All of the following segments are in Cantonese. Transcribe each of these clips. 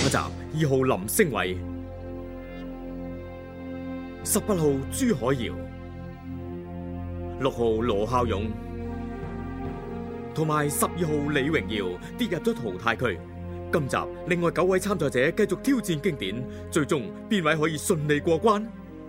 集2號林昇偉，18號朱海瑤，6號羅孝勇，同埋12號李榮耀跌入咗淘汰區。今集另外9位參賽者繼續挑戰經典，最終邊位可以順利過關？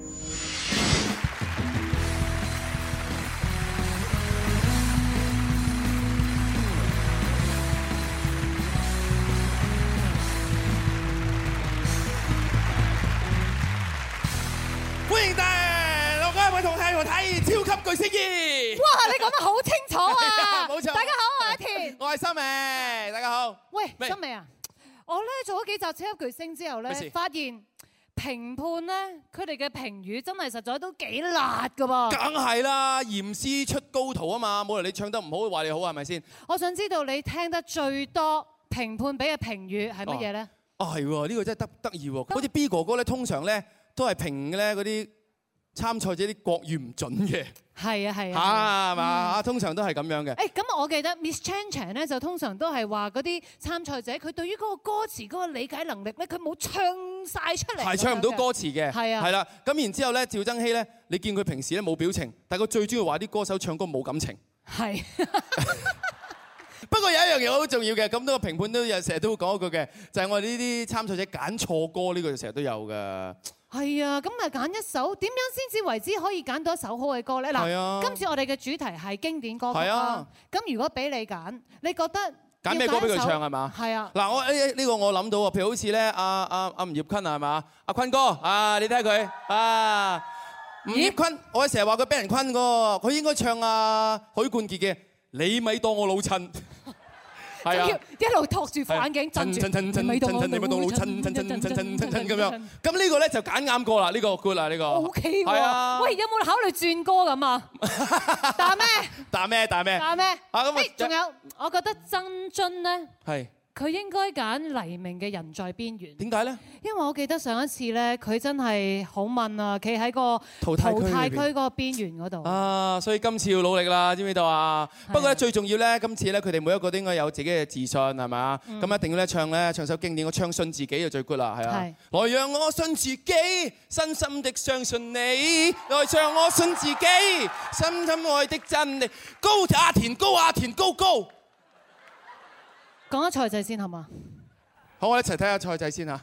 歡迎大陸各位同睇超級巨聲2。 哇！你講得好清楚啊！ 冇錯。 大家好，我係阿田， 我係森美，大家好。 喂，森美啊！我咧做咗幾集超級巨聲之後咧，發現評判咧佢哋嘅評語真係實在都幾辣噶噃。 梗係啦，嚴師出高徒啊嘛，冇理由你唱得唔好話你好係咪先？ 我想知道你聽得最多評判俾嘅評語係乜嘢咧？ 係喎，呢個真係得意喎。好似 B 哥哥咧，通常咧都係評咧嗰啲參賽者啲國語唔準嘅。 係啊係啊。 嚇係嘛？通常都係咁樣嘅。 誒咁我記得 Miss Chan Chan 咧就通常都係話嗰啲參賽者佢對於嗰個歌詞嗰個理解能力咧，佢冇唱晒出嚟。 係唱唔到歌詞嘅。 係啊。 係啦，咁然之後咧，趙增熹咧，你見佢平時咧冇表情，但係佢最中意話啲歌手唱歌冇感情。 係。 不過有一樣嘢好重要嘅，咁多個評判都有成日都會講一句嘅，就係我哋呢啲參賽者揀錯歌呢個成日都有㗎。係啊，咁咪揀一首點樣先至為之可以揀到一首好嘅歌咧？嗱，今次我哋嘅主題係經典歌曲啦。咁如果俾你揀，你覺得揀咩歌俾佢唱係嘛？ 係啊。 嗱，我呢個我諗到喎，譬如好似咧阿吳業坤係嘛？阿坤哥啊，你睇下佢啊，吳業坤，我成日話佢俾人坤㗎，佢應該唱阿許冠傑嘅《你咪當我老襯》。係啊， 一路托住副眼鏡，震住， 你咪當我老襯，咁樣。咁呢個咧就揀啱歌啦，呢個 good 啦，呢個。 OK 喎。喂，有冇考慮轉歌咁啊？打咩？ 打咩？打咩？ 打咩？ 啊咁啊！ 仲有，我覺得曾臻咧。係。佢應該揀黎明嘅《人在邊緣》。點解咧？因為我記得上一次咧，佢真係好問啊，企喺個淘汰區嗰個邊緣嗰度。啊， 所以今次要努力啦，知唔知道啊？不過咧最重要咧，今次咧佢哋每一個都應該有自己嘅自信，係咪啊？咁一定要咧唱首經典，我唱信自己就最 good 啦，係啊。來讓我信自己，深深的相信你。來讓我信自己，深深愛的真理。高阿田，高阿田，高高。 講下賽制先好嘛？ 好，我一齊睇下賽制先嚇。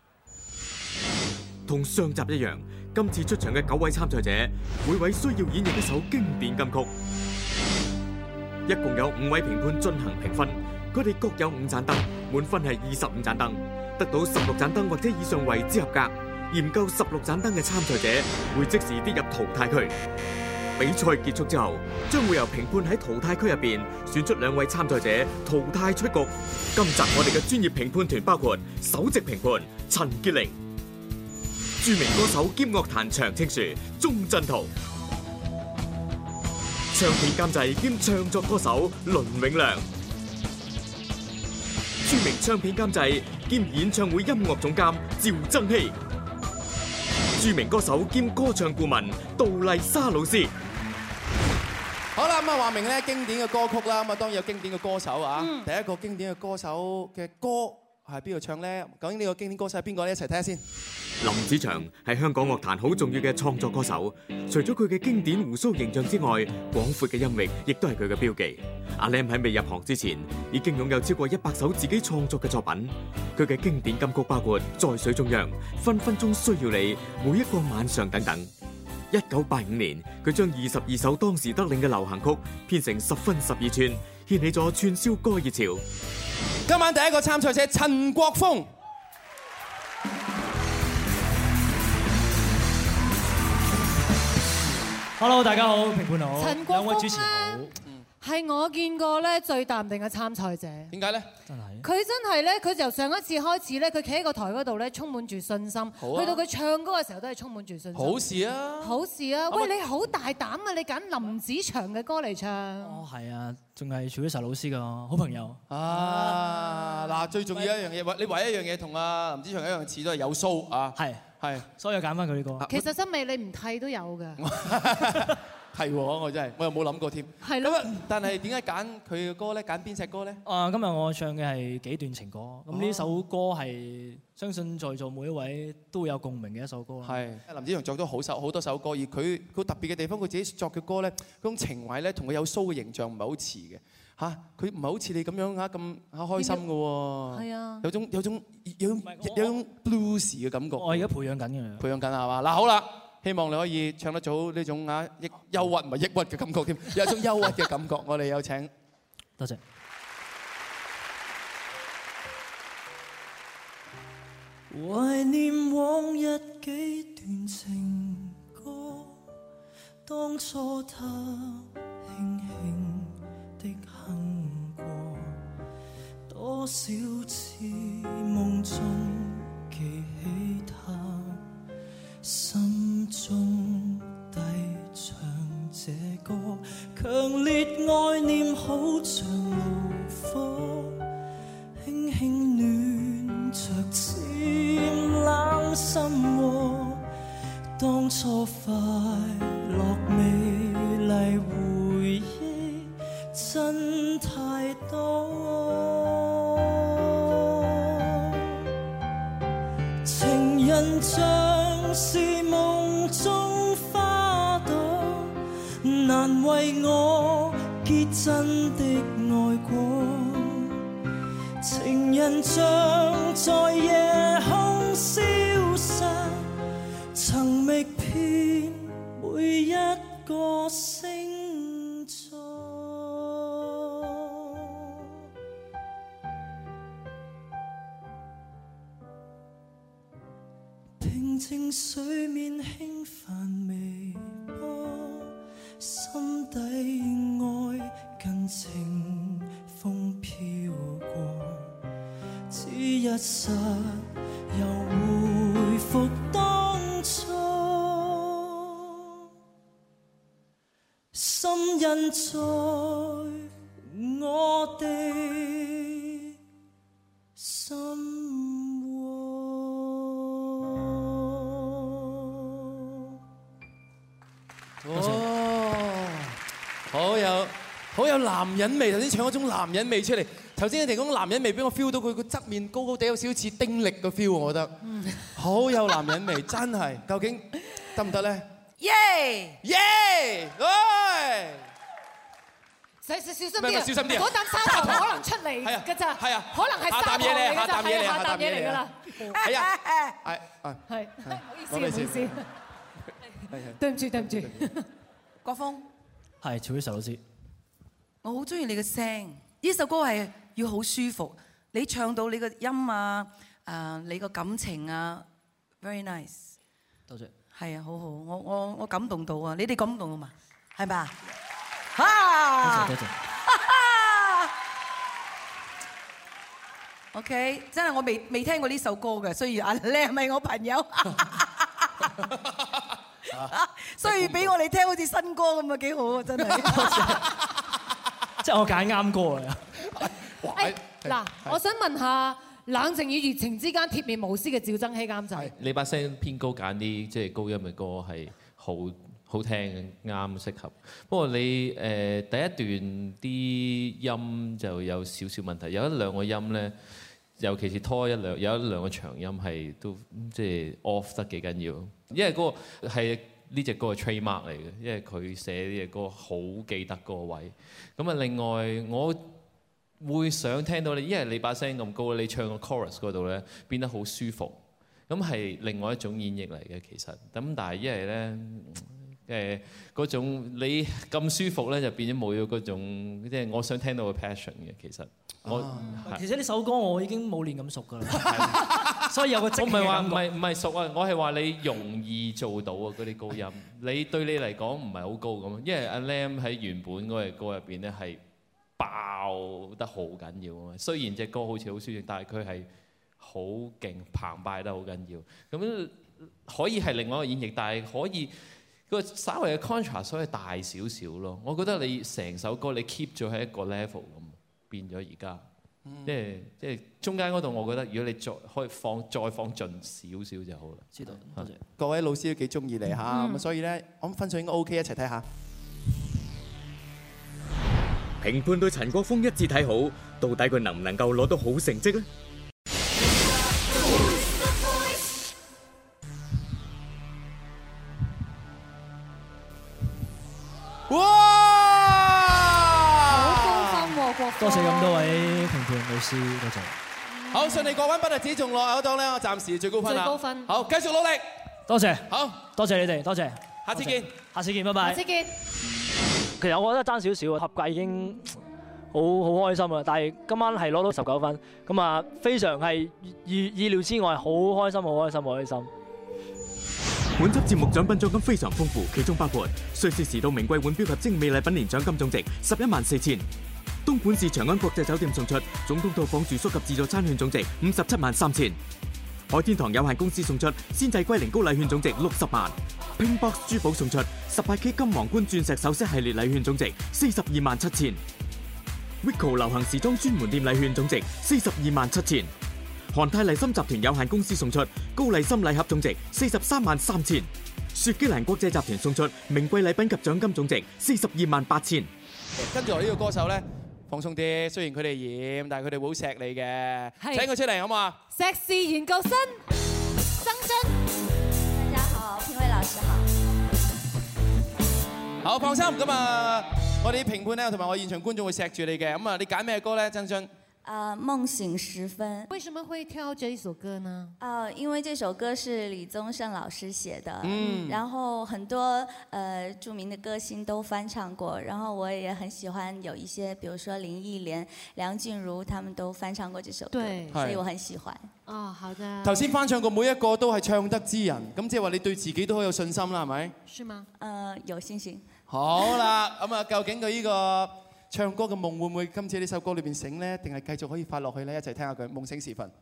同上集一樣，今次出場嘅9位參賽者，每位需要演繹一首經典金曲。一共有5位評判進行評分，佢哋各有5盞燈，滿分係25盞燈，得到16盞燈或者以上為之合格。嫌夠16盞燈嘅參賽者會即時跌入淘汰區。比賽結束之後，將會由評判喺淘汰區入邊選出2位參賽者淘汰出局。今集我哋嘅專業評判團包括首席評判陳潔玲、著名歌手兼樂壇長青樹鐘鎮濤、唱片監製兼唱作歌手倫永亮、著名唱片監製兼演唱會音樂總監趙增熹、著名歌手兼歌唱顧問杜麗莎老師。 好啦，咁啊話明咧經典嘅歌曲啦，咁啊當然有經典嘅歌手啊。第一個經典嘅歌手嘅歌係邊個唱咧？究竟呢個經典歌手係邊個咧？一齊睇下先。 林子祥係香港樂壇好重要嘅創作歌手，除咗佢嘅經典鬍鬚形象之外，廣闊嘅音域亦都係佢嘅標記。阿 Lam 喺未入行之前，已經擁有超過100首自己創作嘅作品。佢嘅經典金曲包括《在水中央》、《分分鐘需要你》、《每一個晚上》等等。1985年，佢將22首當時得令嘅流行曲編成10分12寸，掀起咗串燒歌熱潮。 今晚第一個參賽者陳國峰。 Hello， 大家好，評判好，兩位主持好。 係我見過咧最淡定嘅參賽者。 點解咧？ 佢真係咧，佢由上一次開始咧，佢企喺個台嗰度咧，充滿住信心。去到佢唱歌嘅時候，都係充滿住信心。好事啊！好事啊！喂，你好大膽啊！你揀林子祥嘅歌嚟唱。 哦，係啊，仲係徐偉實老師嘅好朋友。 啊，嗱，最重要一樣嘢，你唯一一樣嘢同阿林子祥一樣似，都係有鬚啊。係，所以揀翻佢呢個。 其實森美你唔剃都有㗎。 係喎，我真係我又冇諗過添。 係咯。 但係點解揀佢嘅歌咧？揀邊隻歌咧？ 今日我唱嘅係幾段情歌，咁呢首歌係相信在座每一位都會有共鳴嘅一首歌。 係林子祥作咗好多首歌，而佢特別嘅地方，佢自己作嘅歌咧，嗰種情懷咧，同佢有 show 嘅形象唔係好似嘅嚇。佢唔係好似你咁樣嚇咁開心嘅喎。係啊。有種 blues 嘅感覺。我而家培養緊嘅。 培養緊係嘛？嗱好啦。希望你可以唱得到呢種憂鬱唔係抑鬱嘅感覺添，有一種憂鬱嘅感覺。我哋有請， 多謝。懷念往日幾段情歌，當初他輕輕的哼過，多少次夢中記起他。心中低唱這歌，強烈愛念好像爐火，輕輕暖着漸冷心窩。當初快樂美麗回憶真太多，情人像是夢中花朵，難為我結真的愛過。情人像在夜空消失，曾覓遍每一個星座。平靜水面輕泛微波，心底愛跟清風飄過，只一剎又回復當初，心印在我哋心窩。 哦，好有男人味，頭先唱嗰種男人味出嚟。頭先你哋講男人味，俾我 feel 到佢個側面高高地，有少少似丁力嘅 feel， 我覺得好有男人味，真係。究竟得唔得咧？ 耶耶！喂！ 小心啲啊！ 小心啲啊！ 嗰啖砂糖可能出嚟㗎咋？係啊，可能係砂糖嚟㗎咋？係下啖嘢嚟㗎啦。 係啊， 係，唔好意思。對唔住， 國峰， 係曹宇成老師， 我好中意你嘅聲，呢首歌係要好舒服，你唱到你個音啊，你個感情啊 ，very nice， 多謝， 係啊，好好，我感動到啊，你哋感動到嘛？係咪啊？ 多謝。 OK， 真係我未聽過呢首歌嘅，所以阿靚係咪我朋友？所以俾我哋聽好似新歌咁啊，幾好啊，真係。 即係我揀啱歌啊！ 嗱，我想問下，冷靜與熱情之間鐵面無私嘅趙增熹監製， 你把聲偏高，揀啲即係高音嘅歌係好聽啱適合。不過你第一段啲音就有少少問題，有一兩個音咧，尤其是有一兩個長音係都即係 off 得幾緊要，因為嗰個係呢隻歌嘅 trademark 嚟嘅，因為佢寫呢隻歌好記得嗰個位。咁啊，另外我會想聽到你，因為你把聲咁高，你唱個 chorus 嗰度咧變得好舒服，咁係另外一種演繹嚟嘅其實。咁但係因為咧嗰種你咁舒服咧，就變咗冇咗嗰種即係我想聽到嘅 passion 嘅其實。 其實呢首歌我已經冇練咁熟㗎啦，所以有個即興嘅感覺。 唔係熟啊，我係話你容易做到啊嗰啲高音，你對你嚟講唔係好高咁，因為阿 Lam 喺原本嗰隻歌入邊咧係爆得好緊要啊嘛。雖然隻歌好似好舒適，但係佢係好勁澎湃得好緊要。咁可以係另外一個演繹，但係可以個稍微嘅 contrast 可以大少少咯。我覺得你成首歌你 keep 咗喺一個 level 咁。變咗而家，即係中間嗰度，我覺得如果你可以再放盡少少就好啦。 知道，多謝。 各位老師都幾中意你嚇，咁所以咧，我諗分數應該 OK， 一齊睇下。 評判對陳國峰一致睇好，到底佢能唔能夠攞到好成績呢？ 哇！ 好高分喎，國峰。 多謝咁多位評判老師，多謝。 好，順利過關不特止，仲落口檔咧，我暫時最高分啦。 最高分。 好，繼續努力。 多謝。 好， 多謝你哋，多謝。 下次見。 下次見，拜拜。 下次見。 其實我覺得爭少少啊，合格已經好開心啦。但係今晚係攞到19分，咁啊非常係意料之外，好開心，好開心，好開心。 本輯節目獎品獎金非常豐富，其中包括瑞士時度名貴腕錶及精美禮品年獎金總值114000；東莞市長安國際酒店送出總統套房住宿及自助餐券總值573000；海天堂有限公司送出鮮製龜苓膏禮券總值60萬；Pinkbox 珠寶送出18K 金皇冠鑽石首飾系列禮券總值427000；Wico 流行時裝專門店禮券總值427000；韓泰麗參集團有限公司送出高麗參禮盒總值433000；雪肌蘭國際集團送出名貴禮品及獎金總值428000。 跟住我呢個歌手咧，放鬆啲，雖然佢哋染，但係佢哋會好錫你嘅。請佢出嚟好嘛？ 碩士研究生曾臻， 大家好，評委老師好。 好，放心，咁啊，我哋啲評判咧，同埋我現場觀眾會錫住你嘅。咁啊，你揀咩歌咧，曾臻？ 夢醒時分。 為什麼會挑這一首歌呢？ 因為這首歌是李宗盛老師寫的，然後很多著名的歌星都翻唱過，然後我也很喜歡有一些，比如說林憶蓮、梁靜茹，他們都翻唱過這首歌，所以我很喜歡。 哦，好的。 頭先翻唱過每一個都係唱得之人，咁即係話你對自己都好有信心啦，係咪？ 是嗎？ 有信心。 好啦，咁啊，究竟佢呢個唱歌嘅夢會唔會今次呢首歌裏邊醒呢？定係繼續可以發落去呢？一齊聽下佢夢醒時分。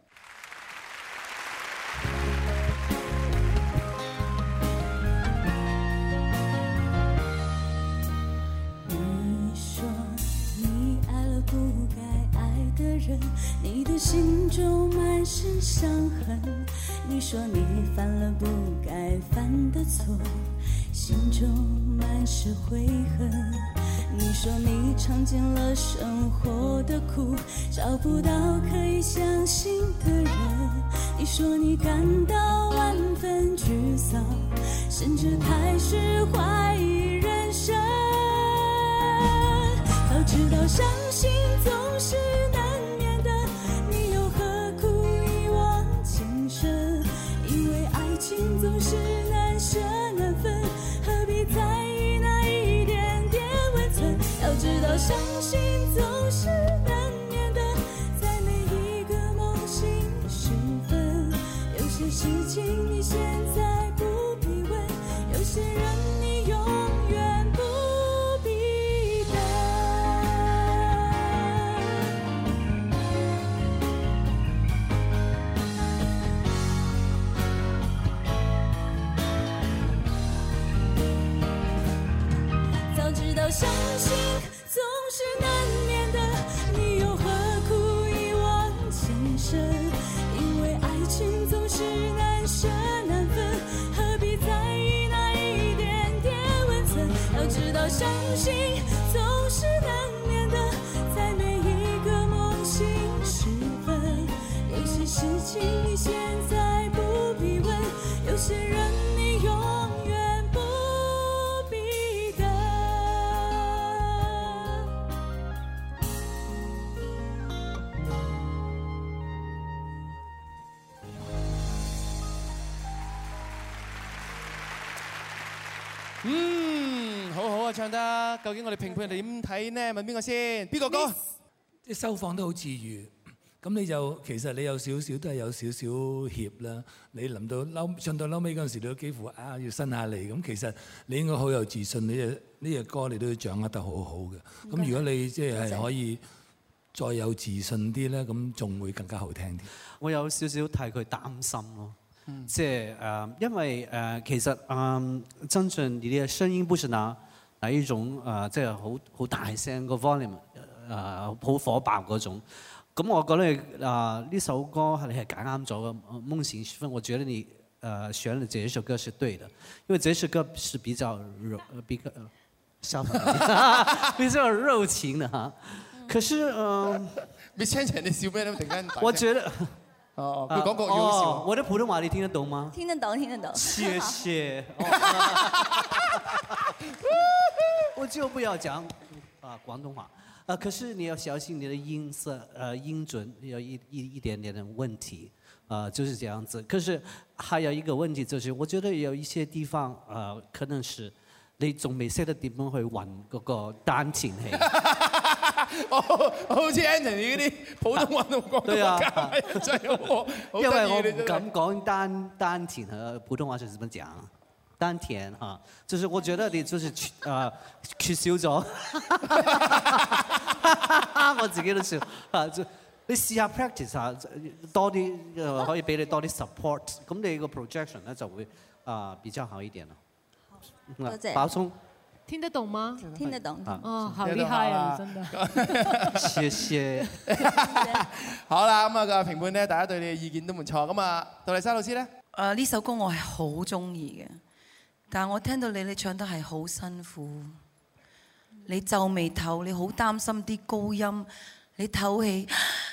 你說你愛了不該愛的人，你的心中滿是傷痕。你說你犯了不該犯的錯，心中滿是悔恨。你說你嘗盡了生活的苦，找不到可以相信的人。你說你感到萬分沮喪，甚至開始懷疑人生。早知道傷心總是難免的，你又何苦一往情深？因為愛情總是難捨難分，何必在意那一點點溫存？要知道傷心總是難免的，在每一個夢醒時分。有些事情你現在不必問，有些人你永遠不必等。早知道傷心總是難免的，你又何苦一往情深？因為愛情總是難捨難分，何必在意那一點點溫存？要知道傷心總是難免的，在每一個夢醒時分。有些事情你現在不必問，有些人你永遠不必等。 好好啊，唱得。究竟我哋評判人哋點睇呢？問邊個先？邊個歌？ 即係收放得好自如，咁你就其實你有少少都係有少少怯啦。你臨到唱到嬲尾嗰陣時，你都幾乎要伸下嚟。咁其實你應該好有自信，呢隻歌你都要掌握得好好嘅。咁如果你即係可以再有自信啲咧，咁仲會更加好聽啲。 我有少少替佢擔心咯。即係因為其實曾臻你嘅聲音不是哪一種即係好大聲個 volume 好火爆嗰種。咁我覺得呢首歌你係揀啱咗嘅夢醒時分，我覺得你選了這一首歌是對的，因為這首歌是比較小朋友，比較熱情的哈。可是你先前你笑咩咧？突然間， 我覺得佢講國語好笑。 我的普通話你聽得懂嗎？ 聽得懂，聽得懂。 謝謝。我就不要講廣東話。可是你要小心你的音色，音準有一點點的問題，就是這樣子。可是還有一個問題，就是我覺得有一些地方，可能是你仲未識得點樣去運嗰個丹田氣。 好似 Anthony 嗰啲普通話同廣東話真係好， 因為我唔敢講丹田和普通話是怎麼講。丹田啊，就是我覺得你就是缺少咗，我自己都笑就你試下 practice 下多啲，可以俾你多啲 support， 咁你個 projection 咧就會比較好一點咯。 多謝。 寶聰， 聽得懂嗎？ 聽得懂。 哦，好厲害啊！真的。 謝謝。 好啦，咁個評判咧，大家對你嘅意見都唔錯。咁啊，杜麗莎老師咧？ 呢首歌我係好中意嘅。但係我聽到你唱得係好辛苦，你皺眉頭，你好擔心啲高音，你唞氣，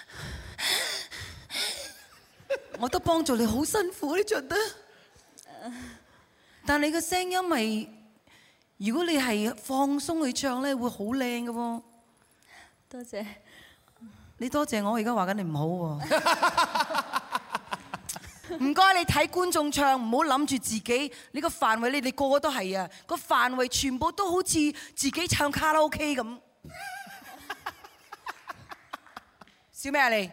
我都幫助你好辛苦，你唱得。但係你個聲音係，如果你係放鬆去唱咧，會好靚嘅喎。 多謝。 你多謝我，而家話緊你唔好喎。唔該，你睇觀眾唱，唔好諗住自己呢個範圍，你哋個個都係啊，個範圍全部都好似自己唱卡拉 OK 咁。笑咩啊你？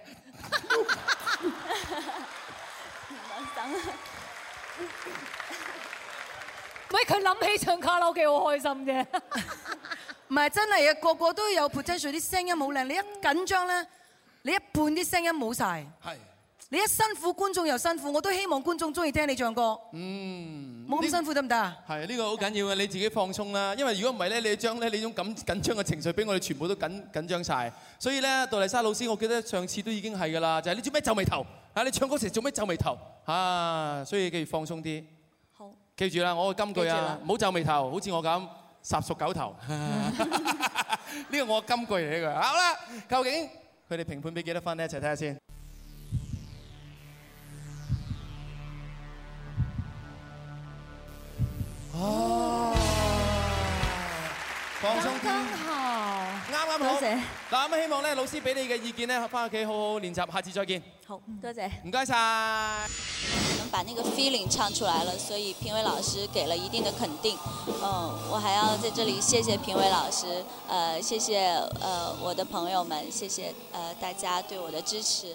喂，佢諗起唱卡拉 OK 好開心啫。 唔係真係啊，個個都有 potential， 啲聲音好靚。你一緊張咧，你一半啲聲音冇晒。係。你一辛苦，觀眾又辛苦，我都希望觀眾中意聽你唱歌。冇咁辛苦得唔得啊？ 係呢個好緊要嘅，你自己放鬆啦。因為如果唔係咧，你將咧你種緊張嘅情緒俾我哋全部都緊張晒。所以咧，杜麗莎老師，我記得上次都已經係㗎啦，就係你做咩皺眉頭？你唱歌時做咩皺眉頭？所以記住放鬆啲。好。記住啦，我個金句啊，唔好皺眉頭，好似我咁霎熟狗頭。呢個我金句嚟嘅。好啦，究竟佢哋評判俾幾多分咧？一齊睇下先。哦，放鬆啲，啱好。 多謝。 嗱咁希望咧，老師俾你嘅意見咧，翻屋企好好練習，下次再見。 好，多謝。 唔該晒。 能把那個 feeling 唱出來了，所以評委老師給了一定的肯定。我還要在這裡謝謝評委老師，謝謝我的朋友們，謝謝大家對我的支持。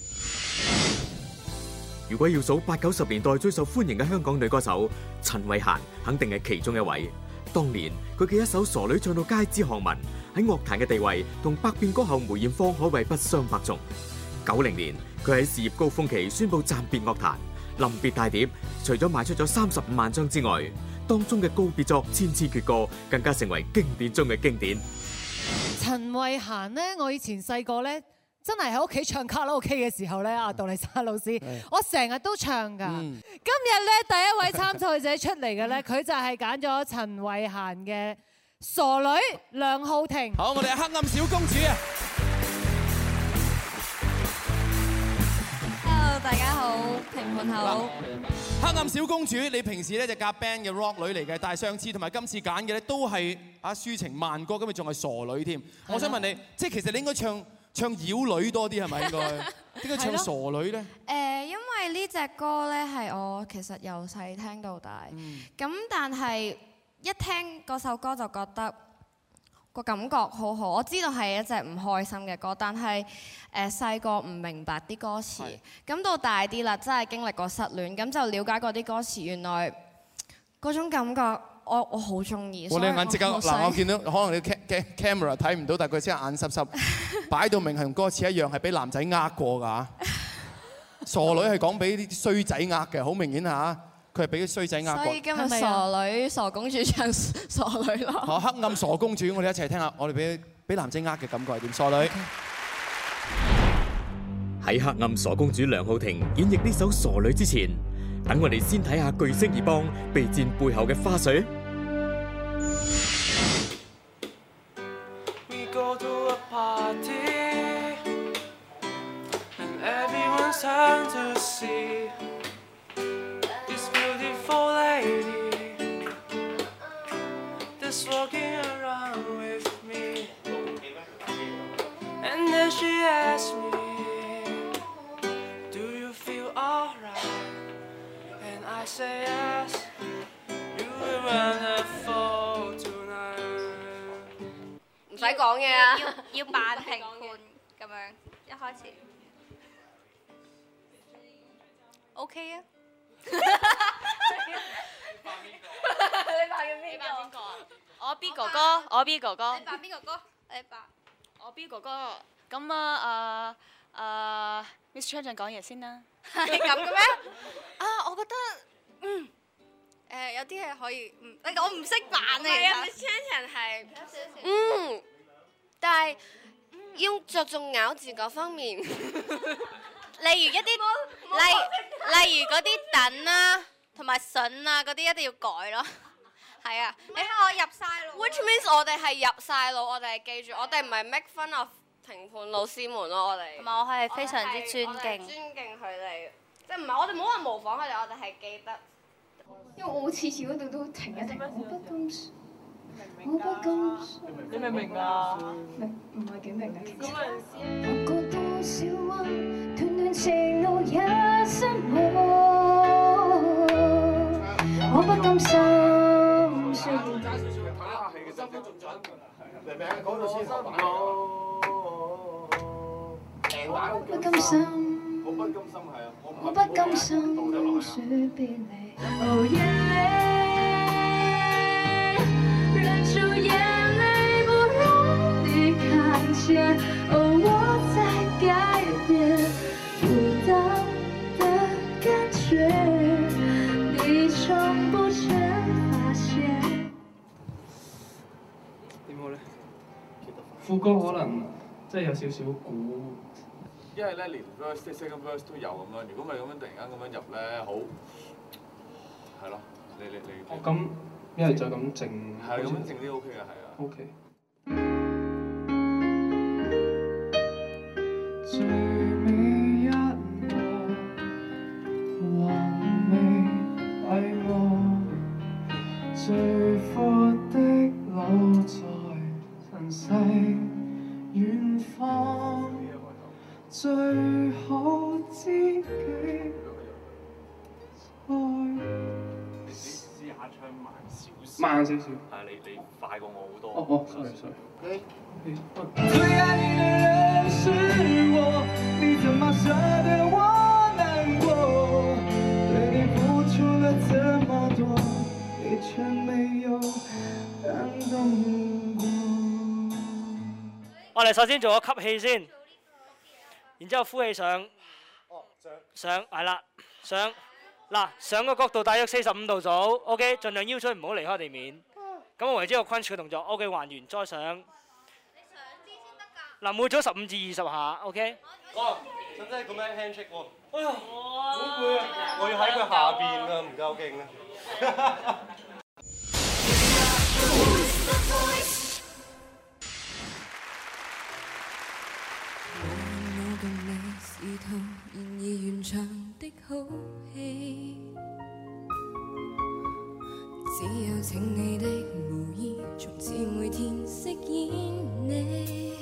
如果要數8、90年代最受歡迎嘅香港女歌手，陳慧嫻肯定係其中一位。當年佢嘅一首《傻女》唱到街知巷聞，喺樂壇嘅地位同百變歌后梅艷芳可謂不相伯仲。90年佢喺事業高峰期宣布暫別樂壇，臨別大碟除咗賣出咗35萬張之外，當中嘅告別作《千千闕歌》更加成為經典中嘅經典。 陳慧嫻呢，我以前細個呢。真係喺屋企唱卡拉 OK 嘅時候咧，阿杜麗莎老師，我成日都唱㗎。今日咧第一位參賽者出嚟嘅咧，佢就係揀咗陳慧嫻嘅《傻女》梁皓婷。 好，我哋係黑暗小公主啊 ！Hello， 大家好，評判好。 黑暗小公主，你平時咧就夾 band 嘅 rock 女嚟嘅，但係上次同埋今次揀嘅咧都係抒情慢歌，今日仲係傻女添。我想問你，即係其實你應該唱妖女多啲係咪應該？點解唱傻女咧？ 因為呢隻歌咧係我其實由細聽到大，咁但係一聽嗰首歌就覺得個感覺好好。我知道係一隻唔開心嘅歌，但係細個唔明白啲歌詞，咁到大啲啦，真係經歷過失戀，咁就了解過啲歌詞，原來嗰種感覺。我好中意。你眼即刻嗱，我見到可能你 camera 睇唔到，但係佢先眼濕濕，擺到明係同歌詞一樣，係俾男仔呃過㗎。傻女係講俾啲衰仔呃嘅，好明顯嚇，佢係俾啲衰仔呃過。 所以今日傻女傻公主唱傻女咯。 好，黑暗傻公主，我哋一齊聽下，我哋俾男仔呃嘅感覺係點？傻女喺黑暗傻公主梁皓婷演繹呢首傻女之前，等我哋先睇下巨聲二幫備戰背後嘅花絮。 see this beautiful lady that's walking around with me, and then she asked me, do you feel alright? And I say yes, you were wonderful tonight。 唔使講嘢啊！ 要扮評判咁樣，一開始 OK 啊！ 你扮緊邊個？ 我 B 哥哥，我 B 哥哥。 你扮邊個哥？你扮我 B 哥哥。咁啊，Miss Chan 講嘢先啦。 係咁嘅咩？啊，我覺得有啲嘢可以我唔識扮啊。係啊 ，Miss Chan 係但係要着重咬字嗰方面，例如一啲例如嗰啲等啦，同埋筍啊嗰啲一定要改咯。係啊，你睇我入晒腦。Which means 我哋係入晒腦，我哋係記住，我哋唔係 make fun of 評判老師們咯，我哋。 同埋我係非常之尊敬。 尊敬佢哋，即係唔係我哋冇話模仿佢哋，我哋係記得。 因為我次次嗰度都停一停，我不甘。我不甘。你明唔明啊？唔係幾明嘅其實。我過多少彎，段段情路也失望，我不甘心。雖然揸少少嘅睇下戲嘅啫，嚟名講到先頭版咯。我不甘心，我不甘心係啊，我不甘心說別離。哦眼淚，忍住眼淚不讓你看見，哦我在改變，孤單的感覺，你從不曾發現。點好咧？副歌可能即係有少少估。因為咧連 verse、second verse 都有咁樣，如果咪咁樣突然間咁樣入咧，好係咯，你哦咁，一係就咁靜，係咁樣靜啲 OK 嘅，係啊。OK。最美一幕，還未閉幕，最闊的路在晨曦遠方。最好知己在。你試下唱慢少少。慢少少。係你快過我好多。哦 sorry。最愛你的人是我，你怎麼捨得我難過？對你付出了這麼多，你卻沒有感動過。我哋首先做個吸氣先。然之後呼氣上，上係啦，上嗱上個角度大約45度左右 ，OK， 盡量腰椎唔好離開地面。咁我為之個 crunch 嘅動作 ，OK， 還原再上。你上啲先得㗎。嗱，每組15至20下 ，OK。哦，使唔使咁樣 handshake 喎？哎呀，好攰啊！我要喺佢下邊啊，唔夠勁啊！ 然而完場的好戲，只有請你的無意，從此每天飾演你。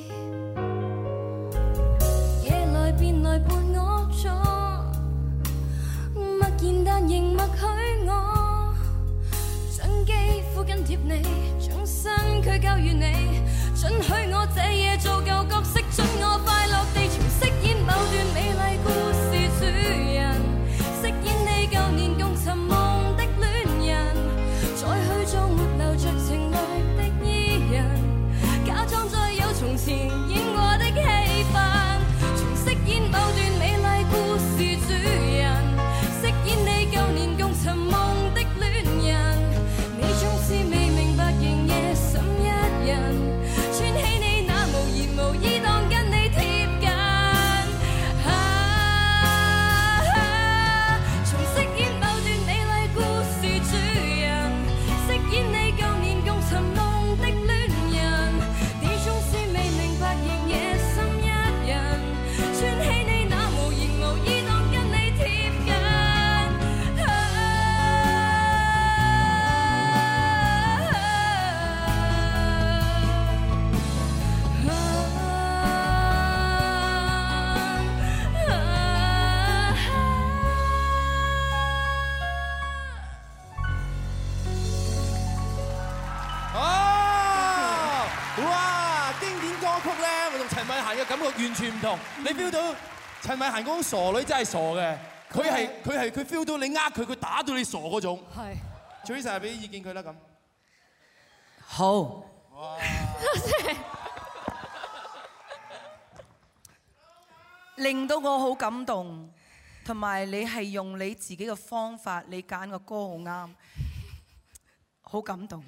夜來便來伴我坐，默然但仍默許我，將肌膚緊貼你，將身軀交予你，准許我這夜做舊角色，准我快樂地重飾演某段美麗故事主人，飾演你舊年共尋夢的戀人，再去做沒流着情淚的伊人，假裝再有從前演過的戲份，重飾演某段美麗故事主人，飾演你舊年共尋夢的戀人，你總是未明白仍夜審一人，穿起你那無言嫻嘅感覺完全唔同。你 feel 到陳慧嫻嗰種傻女真係傻嘅，佢 feel 到你呃佢，佢打到你傻嗰種。係。Teresa 俾啲意見佢啦咁。 好。 哇！ 多謝。令到我好感動，同埋你係用你自己嘅方法，你揀個歌好啱，好感動。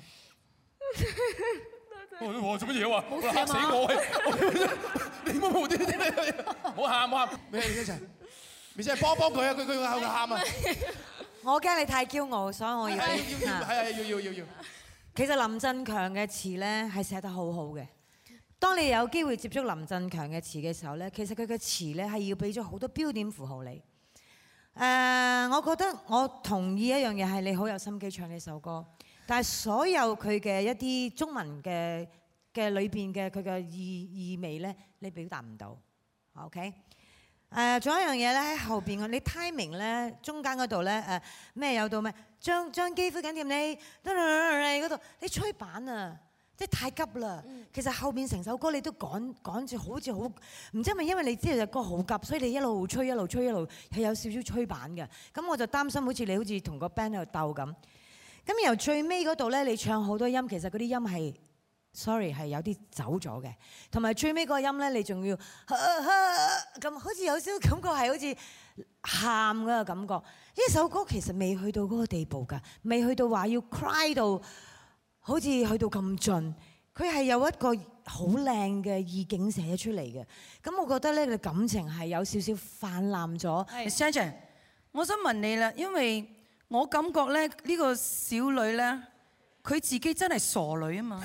我做乜嘢話？嚇死我！你冇無端端，唔好喊唔好喊，咩一齊？咪先幫佢啊！佢喺度喊啊！ 我驚你太驕傲，所以我要要。 其實林振強嘅詞咧係寫得好好嘅。當你有機會接觸林振強嘅詞嘅時候咧，其實佢嘅詞咧係要俾咗好多標點符號你。我覺得我同意一樣嘢係你好有心機唱呢首歌，但係所有佢嘅一啲中文嘅裏邊嘅佢嘅意味咧，你表達唔到。OK？仲有一樣嘢咧喺後邊你 timing 咧中間嗰度咧咩有到咩？將肌膚緊貼你嗰度，你吹板啊！即係太急啦，其實後邊成首歌你都趕住好似好，唔知係咪因為你知道隻歌好急，所以你一路吹係有少少吹板嘅。咁我就擔心好似同個 band 喺度鬥咁。咁由最尾嗰度咧，你唱好多音，其實嗰啲音係 sorry 係有啲走咗嘅，同埋最尾嗰個音咧，你仲要咁好似有少少感覺係好似喊嗰個感覺。呢首歌其實未去到嗰個地步㗎，未去到話要 cry 到。好似去到咁盡，佢係有一個好靚嘅意境寫出嚟嘅。咁我覺得咧，佢感情係有少少泛濫咗。 Shannon，我想問你啦，因為我感覺咧呢個小女咧，佢自己真係傻女啊嘛。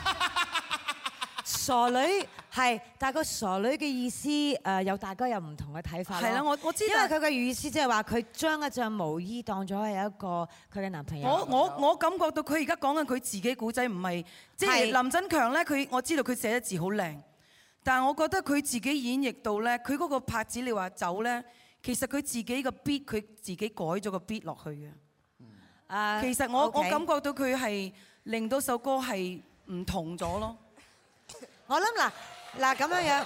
傻女係，但係個傻女嘅意思有大家有唔同嘅睇法咯。 係啦，我知道。 因為佢嘅意思即係話佢將一隻毛衣當咗係一個佢嘅男朋友。 我感覺到佢而家講緊佢自己古仔，唔係即係林振強咧。我知道佢寫得字好靚，但係我覺得佢自己演繹到咧，佢嗰個拍子你話走咧，其實佢自己個 beat 佢自己改咗個 beat 落去嘅。其實我感覺到佢係令到首歌係唔同咗咯。 我諗嗱咁樣，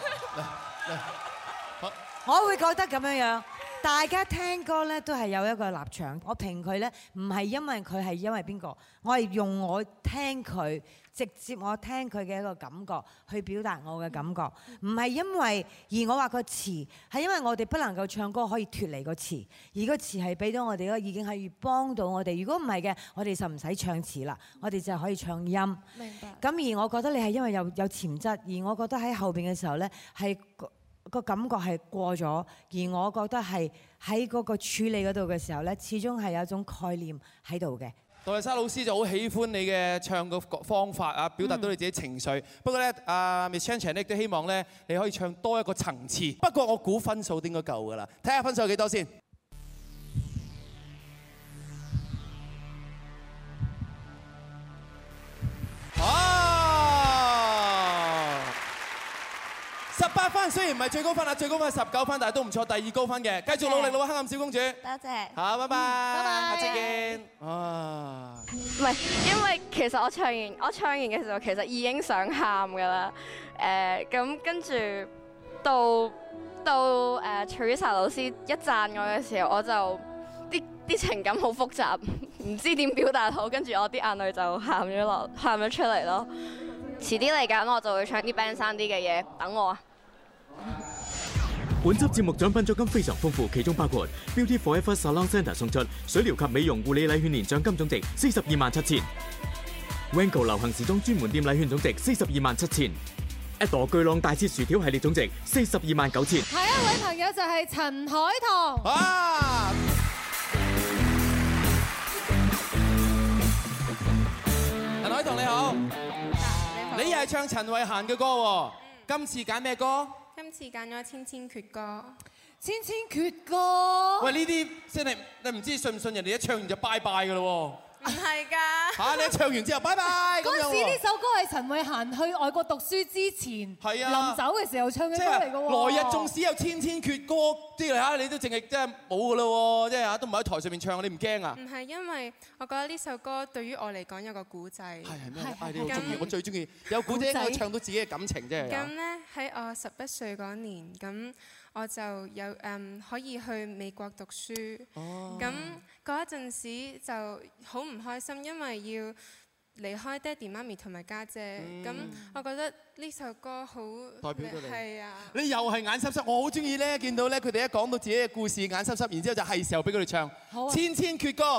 我會覺得咁樣，大家聽歌咧都係有一個立場。我評佢咧唔係因為佢係因為邊個，我係用我聽佢直接我聽佢嘅一個感覺去表達我嘅感覺，唔係因為而我話個詞係因為我哋不能夠唱歌可以脫離個詞，而個詞係俾到我哋已經係幫到我哋。如果唔係嘅，我哋就唔使唱詞啦，我哋就可以唱音。明白。咁而我覺得你係因為有潛質，而我覺得喺後邊嘅時候咧係個感覺係過咗，而我覺得係喺嗰個處理嗰度嘅時候咧，始終係有一種概念喺度嘅。 杜麗莎老師就好喜歡你嘅唱嘅方法啊，表達到你自己情緒。不過咧，阿 Miss Chan Chan 亦都希望咧，你可以唱多一個層次。不過我估分數應該夠㗎啦，睇下分數有幾多先。18分，雖然唔係最高分啊，最高分係19分，但係都唔錯，第2高分嘅，繼續努力咯，黑暗小公主。 多謝。 好，拜拜。 拜拜。 下次見。啊。 唔係，因為其實我唱完嘅時候，其實已經想喊㗎啦。咁跟住到Teresa 老師一讚我嘅時候，我就啲情感好複雜，唔知點表達好，跟住我啲眼淚就喊咗出嚟咯。遲啲嚟緊我就會唱啲 band 生啲嘅嘢，等我啊！ 本輯節目獎品獎金非常豐富，其中包括 Beauty Forever Salon Centre 送出水療及美容護理禮券年獎金總值427000；Wango 流行時裝專門店禮券總值427000；一朵巨浪大切薯條系列總值429000。 下一位朋友就係陳海棠。 啊！陳海棠你好。你又係唱陳慧嫻嘅歌喎，今次揀咩歌？ 今次揀咗《千千闕歌》。 千千闕歌。 喂，呢啲真係你唔知信唔信人哋一唱完就拜拜㗎咯喎。 唔係㗎。 嚇！你唱完之後，拜拜。 嗰陣時呢首歌係陳慧嫻去外國讀書之前， 係啊， 臨走嘅時候唱嘅歌嚟㗎喎。 來日縱使有千千闕歌，啲嚟嚇你都淨係真係冇㗎啦喎，即係嚇都唔喺台上面唱，你唔驚啊？ 唔係，因為我覺得呢首歌對於我嚟講有個古仔。 係咩？你好中意，我最中意有古仔應該唱到自己嘅感情啫。 咁咧喺我11歲嗰年，咁我就有可以去美國讀書。咁嗰一陣時就好唔開心，因為要離開爹哋媽咪同埋家姐。咁我覺得呢首歌好代表到你。 係啊。 你又係眼濕濕，我好中意咧，見到咧佢哋一講到自己嘅故事，眼濕濕，然之後就係時候俾佢哋唱《千千闕歌》。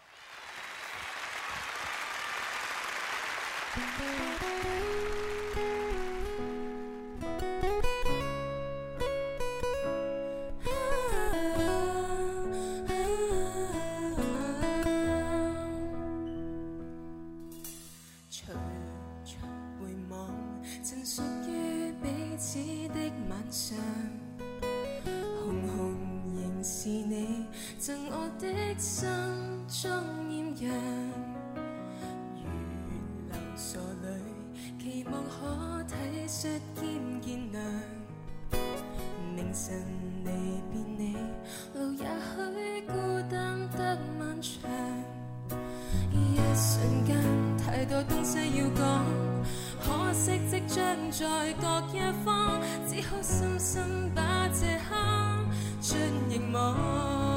贈我的心中豔陽，如流傻淚，期望可體恤兼見諒。明晨離別你，路也許孤單得漫長。一瞬間太多東西要講，可惜即將在各一方，只好深深把這刻進凝望。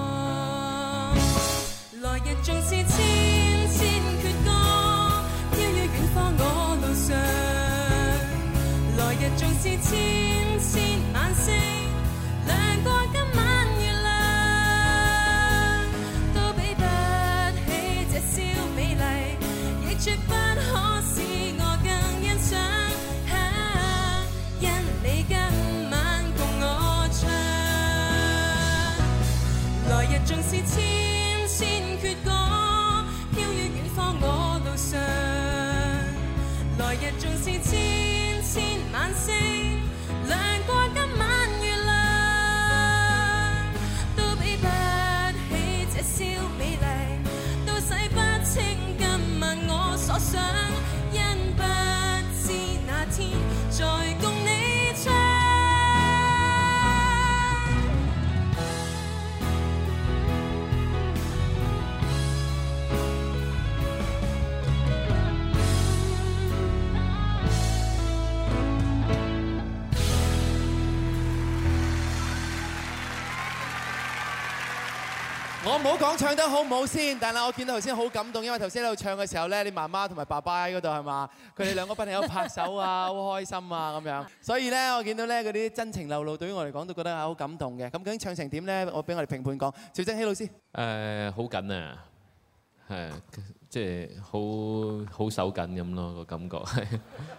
來日縱是千千闕歌，飄於遠方我路上。來日縱是千千晚星，亮過今晚月亮，都比不起這宵美麗，亦絕不可使我更欣賞。因你今晚共我唱，來日縱是千闕歌，飄於遠方我路上。來日縱是千千晚星，亮過今晚月亮，都比不起這宵美麗，都洗不清今晚我所想，因不知那天再共你唱。 我唔好講唱得好唔好先，但係我見到頭先好感動，因為頭先喺度唱嘅時候咧，你媽媽同埋爸爸喺嗰度係嘛？佢哋兩個不停喺度拍手啊，好開心啊咁樣。所以咧，我見到咧嗰啲真情流露，對於我嚟講都覺得係好感動嘅。咁究竟唱成點咧？我俾我哋評判講，趙增熹老師。 好緊啊，係即係好手緊咁咯，個感覺係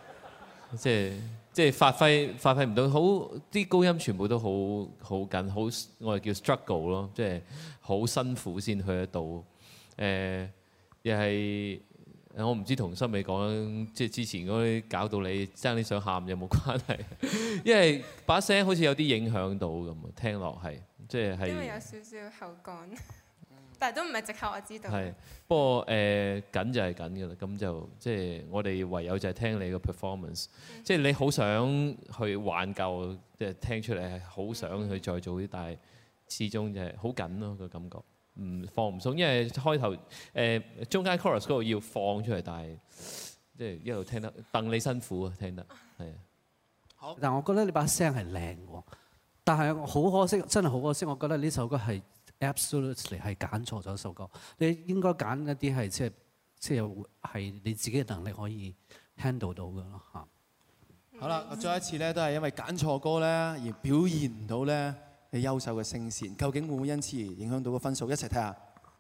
即係發揮唔到，好啲高音全部都好緊，好我哋叫 struggle 咯，即係好辛苦先去得到。又係我唔知同森美講，即係之前嗰啲搞到你爭啲想喊有冇關係？因為把聲好似有啲影響到咁啊，聽落係即係因為有少少後幹。但係都唔係藉口，我知道。係， 不過緊就係緊㗎啦，咁就即係我哋唯有就係聽你個 performance，即係你好想去挽救，即係聽出嚟係好想去再做啲，但係始終就係好緊咯個感覺，放唔鬆，因為開頭中間 chorus 嗰度要放出嚟，但係即係一路聽得戥你辛苦啊，聽得係啊。 好，但我覺得你把聲係靚喎，但係好可惜，真係好可惜，我覺得呢首歌係。Absolutely 係揀錯咗首歌，你應該揀一啲係即係你自己嘅能力可以 handle 到嘅咯嚇。 好啦，我再一次咧都係因為揀錯歌咧而表現唔到咧你優秀嘅聲線，究竟會唔會因此而影響到個分數？一齊睇下。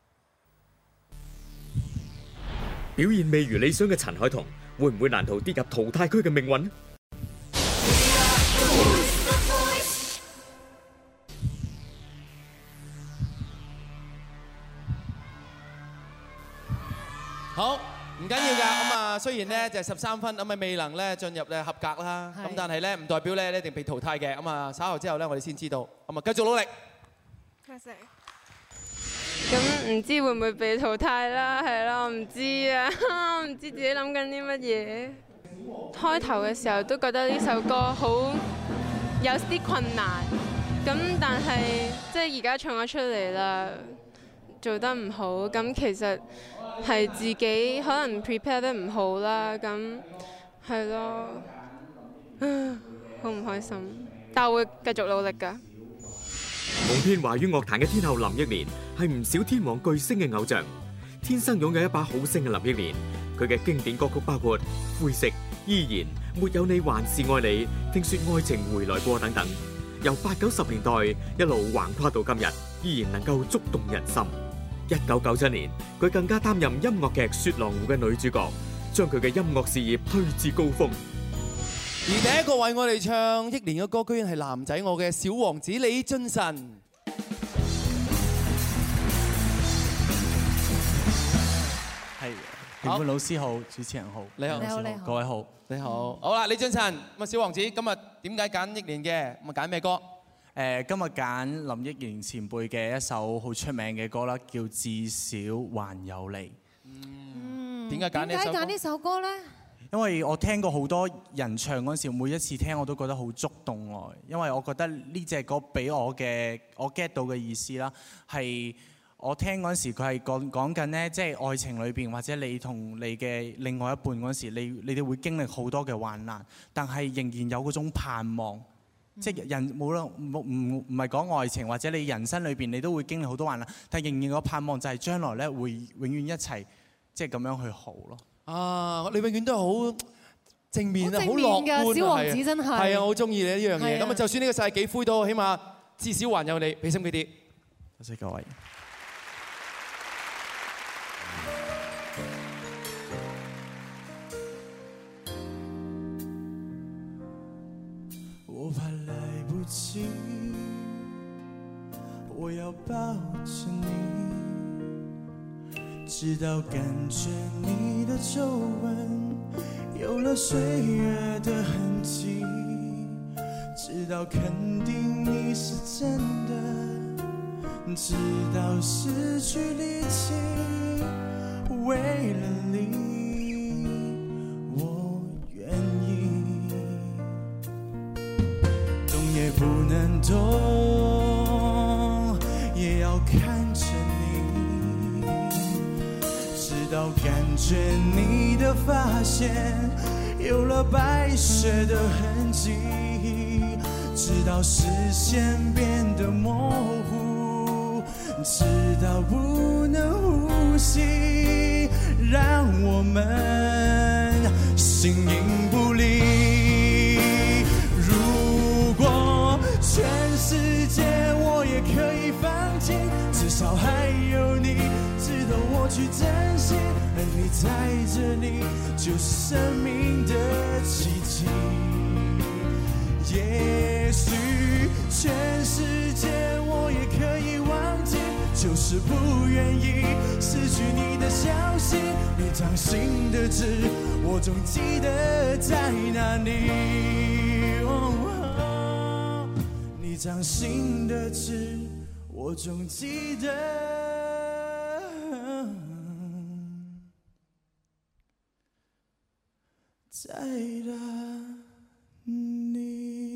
表現未如理想嘅陳凱彤，會唔會難逃跌入淘汰區嘅命運？ 好，唔緊要㗎。咁啊，雖然咧就係13分，咁啊未能咧進入咧合格啦。咁但係咧唔代表咧你一定被淘汰嘅。咁啊稍後之後咧，我哋先知道。咁啊繼續努力。 多謝。 咁唔知會唔會被淘汰啦？係啦，我唔知啊，我唔知自己諗緊啲乜嘢。開頭嘅時候都覺得呢首歌好有啲困難，咁但係即係而家唱咗出嚟啦，做得唔好，咁其實係自己可能 prepare 得唔好啦，咁係咯，好唔開心，但我會繼續努力㗎。 紅遍華語樂壇嘅天后林憶蓮係唔少天王巨星嘅偶像，天生擁有一把好聲嘅林憶蓮，佢嘅經典歌曲包括《灰色》、《依然》、《沒有你還是愛你》、《聽說愛情回來過》等等，由80、90年代一路橫跨到今日，依然能夠觸動人心。1997年，佢更加擔任音樂劇《雪狼湖》嘅女主角，將佢嘅音樂事業推至高峰。 而第一個為我哋唱憶蓮嘅歌，居然係男仔我嘅小王子李俊晨。 係，評判老師好，主持人好， 你好， 各位好， 你好。好啦，李俊晨，咁啊小王子，今日點解揀憶蓮嘅？咁啊揀咩歌？ 今日揀林憶蓮前輩嘅一首好出名嘅歌啦，叫《至少還有你》。 點解揀呢首歌咧？ 因為我聽過好多人唱嗰陣時，每一次聽我都覺得好觸動我。因為我覺得呢隻歌俾我 get 到嘅意思啦，係我聽嗰陣時佢係講緊呢，即係愛情裏邊或者你同你嘅另外一半嗰陣時，你哋會經歷好多嘅患難，但係仍然有嗰種盼望。即係人冇啦，唔係講愛情或者你人生裏邊你都會經歷好多患難，但係仍然個盼望就係將來咧會永遠一齊，即係咁樣去好咯。 啊！你永遠都係好正面啊，好樂觀啊， 小王子真係。 係啊，我好中意你呢樣嘢。咁啊，就算呢個世界幾灰都好，起碼至少還有你，俾心機啲。 多謝各位。 我怕來不及，我要抱着你。直到感覺你的皺紋有了歲月的痕跡，直到肯定你是真的，直到失去力氣，為了你我願意，動也不能動，也要看着你，直到感覺你的髮線有了白雪的痕跡，直到視線變得模糊，直到不能呼吸，讓我們形影不離。如果全世界我也可以放棄，至少還有你值得我去珍惜，而你在這裡就是生命的奇蹟。也許全世界我也可以忘記，就是不願意失去你的消息，你掌心的痣我總記得在哪裡，你掌心的痣我總記得在哪裡。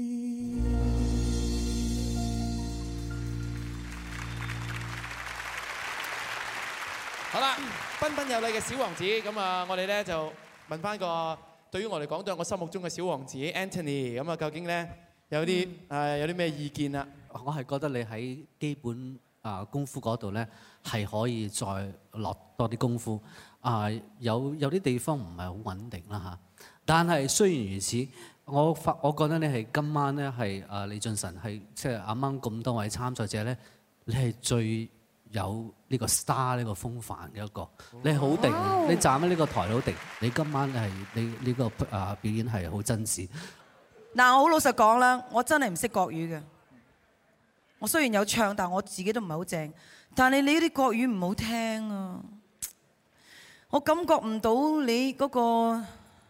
好啦，彬彬有禮嘅小王子，咁啊，我哋咧就問翻個對於我嚟講，對我心目中嘅小王子 Anthony，咁啊，究竟咧有啲咩意見啊？ 我係覺得你喺基本功夫嗰度咧係可以再落多啲功夫。有啲地方唔係好穩定啦嚇，但係雖然如此，我覺得你係今晚咧係李俊晨係即係啱啱咁多位參賽者咧，你係最有呢個 star 呢個風範嘅一個，你係好定，你站喺呢個台好定，你今晚係你呢個表演係好真摯。 嗱，我好老實講啦，我真係唔識國語嘅。我雖然有唱，但我自己都唔係好正。但係你啲國語唔好聽啊，我感覺唔到你嗰個，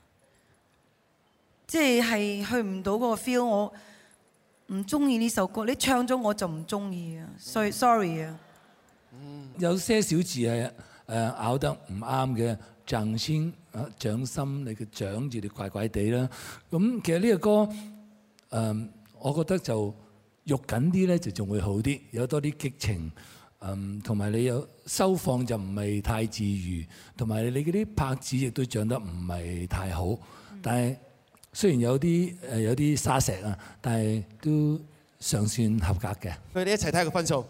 即係去唔到嗰個 feel。我唔中意呢首歌，你唱咗我就唔中意啊。sorry 啊。 有些小字係咬得唔啱嘅，掌心啊，掌心你嘅掌字你怪怪地啦。咁其實呢個歌我覺得就肉緊啲咧，就仲會好啲，有多啲激情。同埋你有收放就唔係太自如，同埋你嗰啲拍子亦都唱得唔係太好。但係雖然有啲沙石啊，但係都尚算合格嘅。 佢哋一齊睇下個分數。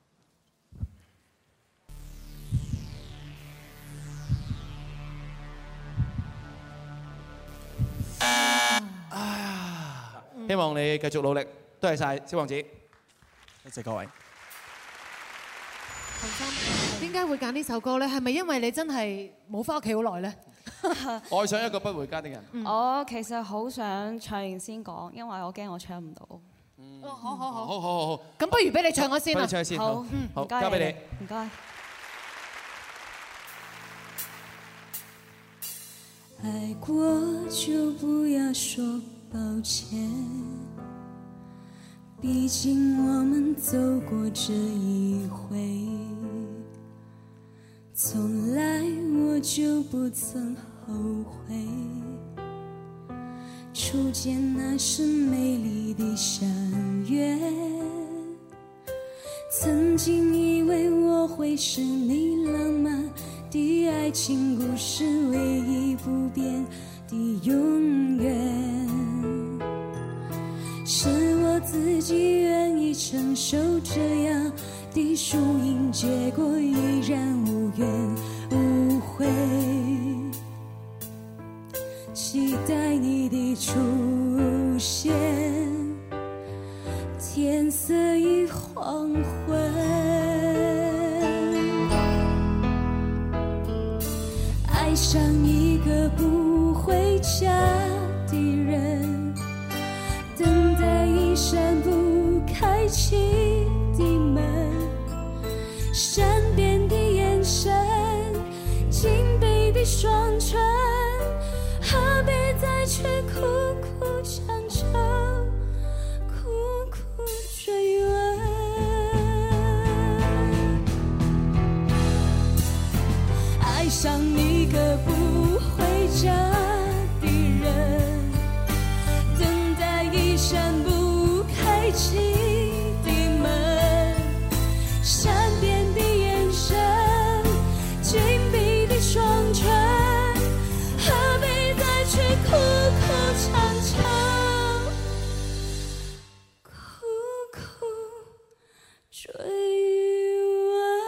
希望你繼續努力，多謝晒小王子， 多謝各位。 洪琛，點解會揀呢首歌咧？係咪因為你真係冇返屋企好耐咧？ 愛上一個不回家的人。 我其實好想唱完先講，因為我驚我唱唔到。 好。咁不如俾你唱咗先啦。 唱先。 好， 好，交俾你。 唔該。 爱过就不要说抱歉，毕竟我们走过这一回，从来我就不曾后悔。初见那是美丽的相约，曾经以为我会是你浪漫的爱情故事，唯一不变的永远，是我自己愿意承受这样的输赢，结果依然无怨无悔。期待你的出现，天色已黄昏。爱上一个不回家的人，等待一扇不开启的门，善变的眼神，紧闭的双唇，何必再去苦苦强求，苦苦追问。爱上一个不回家的人，等待一扇不开启的门，善变的眼神，紧闭的双唇，何必再去苦苦强求，苦苦追问。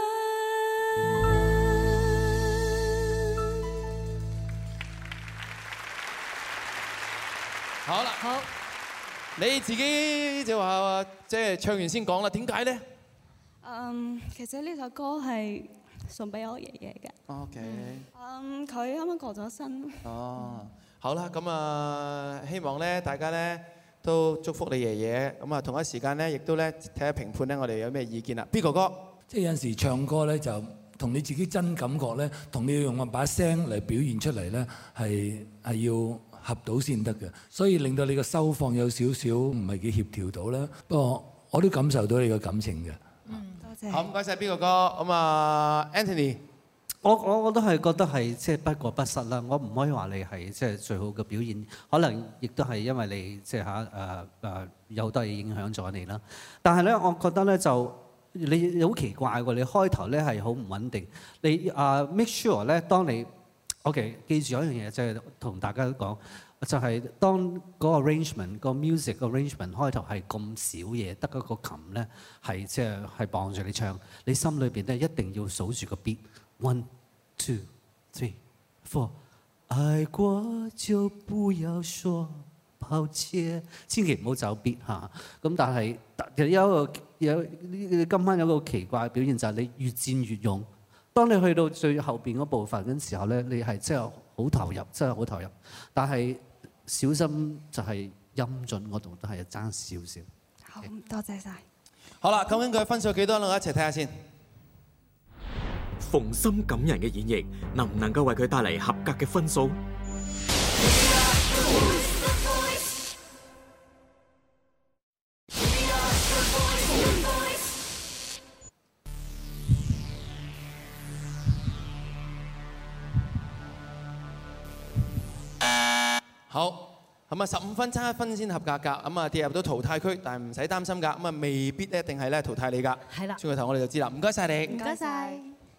好啦，好，你自己就話即係唱完先講啦，點解咧？ 其實呢首歌係送俾我爺爺嘅。 OK。 佢啱啱過咗身。 哦，好啦，咁啊，希望咧大家咧都祝福你爺爺，咁啊同一時間咧亦都咧睇下評判咧，我哋有咩意見啦。邊個歌？ 即係有陣時唱歌咧，就同你自己真感覺咧，同你要用把聲嚟表現出嚟咧，係要合到先得嘅，所以令到你個收放有少少唔係幾協調到啦。不過我都感受到你個感情嘅。 多謝。 好，唔該曬邊個歌？咁啊 ，Anthony， 我都係覺得係即係不過不失啦。我唔可以話你係即係最好嘅表現，可能亦都係因為你即係有好多嘢影響咗你啦。但係咧，我覺得咧就你好奇怪喎，你開頭咧係好唔穩定。你make sure 咧，當你OK， 記住有一樣嘢，就係同大家講，就係當嗰個 arrangement、個 music 個 arrangement 開頭係咁少嘢，得嗰個琴咧係即係傍住你唱，你心裏邊咧一定要數住個 beat，1 2 3 4，愛過就不要說抱歉，千祈唔好走 beat 嚇。咁但係今晚有個奇怪嘅表現就係你越戰越勇。當你去到最後邊嗰部分嘅時候咧，你係真係好投入，真係好投入。但係小心就係音準嗰度都係爭少少。 好，多謝晒。 好啦，究竟佢分數幾多咧？我一齊睇下先。 馮琛感人嘅演繹，能唔能夠為佢帶嚟合格嘅分數？ 好，咁啊15分差1分先合格㗎，咁啊跌入到淘汰區，但係唔使擔心㗎，咁啊未必一定係咧淘汰你㗎。 係啦， 轉個頭我哋就知啦，唔該晒你。 唔該晒。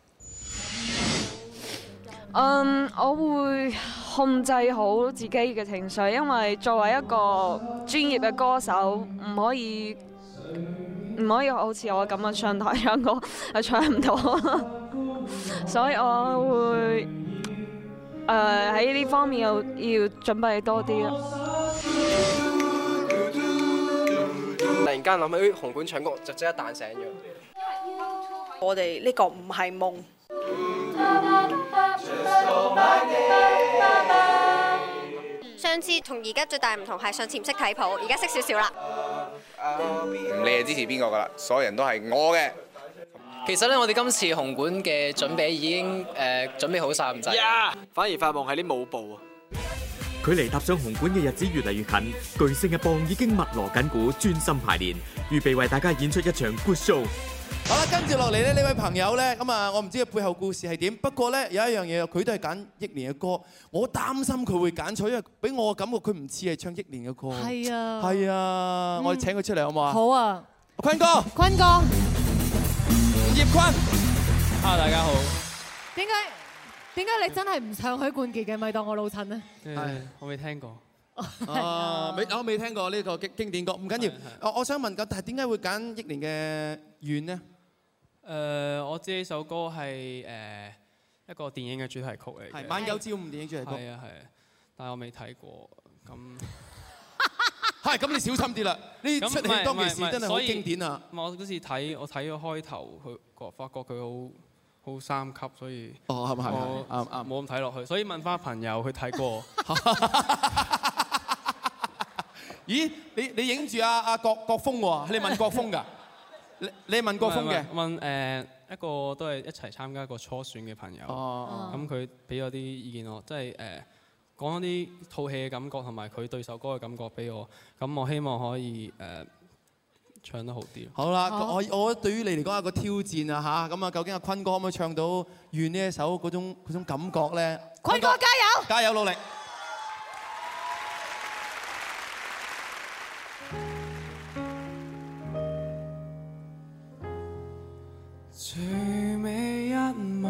我會控制好自己嘅情緒，因為作為一個專業嘅歌手，唔可以好似我咁樣上台唱歌又唱唔到，所以我會喺呢方面要準備多啲啦。 突然間諗起紅館唱歌，就即刻彈醒咗。我哋呢個唔係夢。 上次同而家最大唔同係上次唔識睇譜，而家識少少啦。 唔理係支持邊個㗎啦，所有人都係我嘅。 其實咧，我哋今次紅館嘅準備已經準備好晒咁滯，反而發夢係啲舞步啊。 距離踏上紅館嘅日子越嚟越近，巨聲嘅幫已經密鑼緊鼓，專心排練，預備為大家演出一場 good show。 好啦，跟住落嚟咧，呢位朋友咧，咁啊，我唔知佢背後故事係點，不過咧有一樣嘢，佢都係揀憶蓮嘅歌，我擔心佢會揀錯，因為俾我嘅感覺佢唔似係唱憶蓮嘅歌。 係啊， 係啊，我哋請佢出嚟好唔好啊？ 好啊， 坤哥， 坤哥， 葉坤大家好。 點解你真係唔唱許冠傑嘅？咪當我老襯呢？ 我未聽過。 我未聽過呢個經典歌，唔緊要。我想問緊，但係點解會揀憶蓮嘅《願》呢？ 我知呢首歌係一個電影嘅主題曲嚟嘅。 係《晚九朝五》電影主題曲。 係啊，但係我未睇過。 咁你小心啲啦！呢出戲當其時真係好經典啊！ 我嗰時睇咗開頭，佢發覺佢好三級，所以係咪冇咁睇落去，所以問翻朋友去睇過。 咦？你影住阿國峰喎？你問國峰㗎？你問國峰嘅？ 問一個都係一齊參加過初選嘅朋友。咁佢俾咗啲意見我，即係講一啲套戲嘅感覺同埋佢對首歌嘅感覺俾我。咁我希望可以唱得好啲。 好啦，我覺得對於你嚟講係個挑戰啊嚇。咁啊，究竟阿坤哥可唔可以唱到《願》呢一首嗰種感覺咧？ 坤哥加油！ 加油努力！ 最美一幕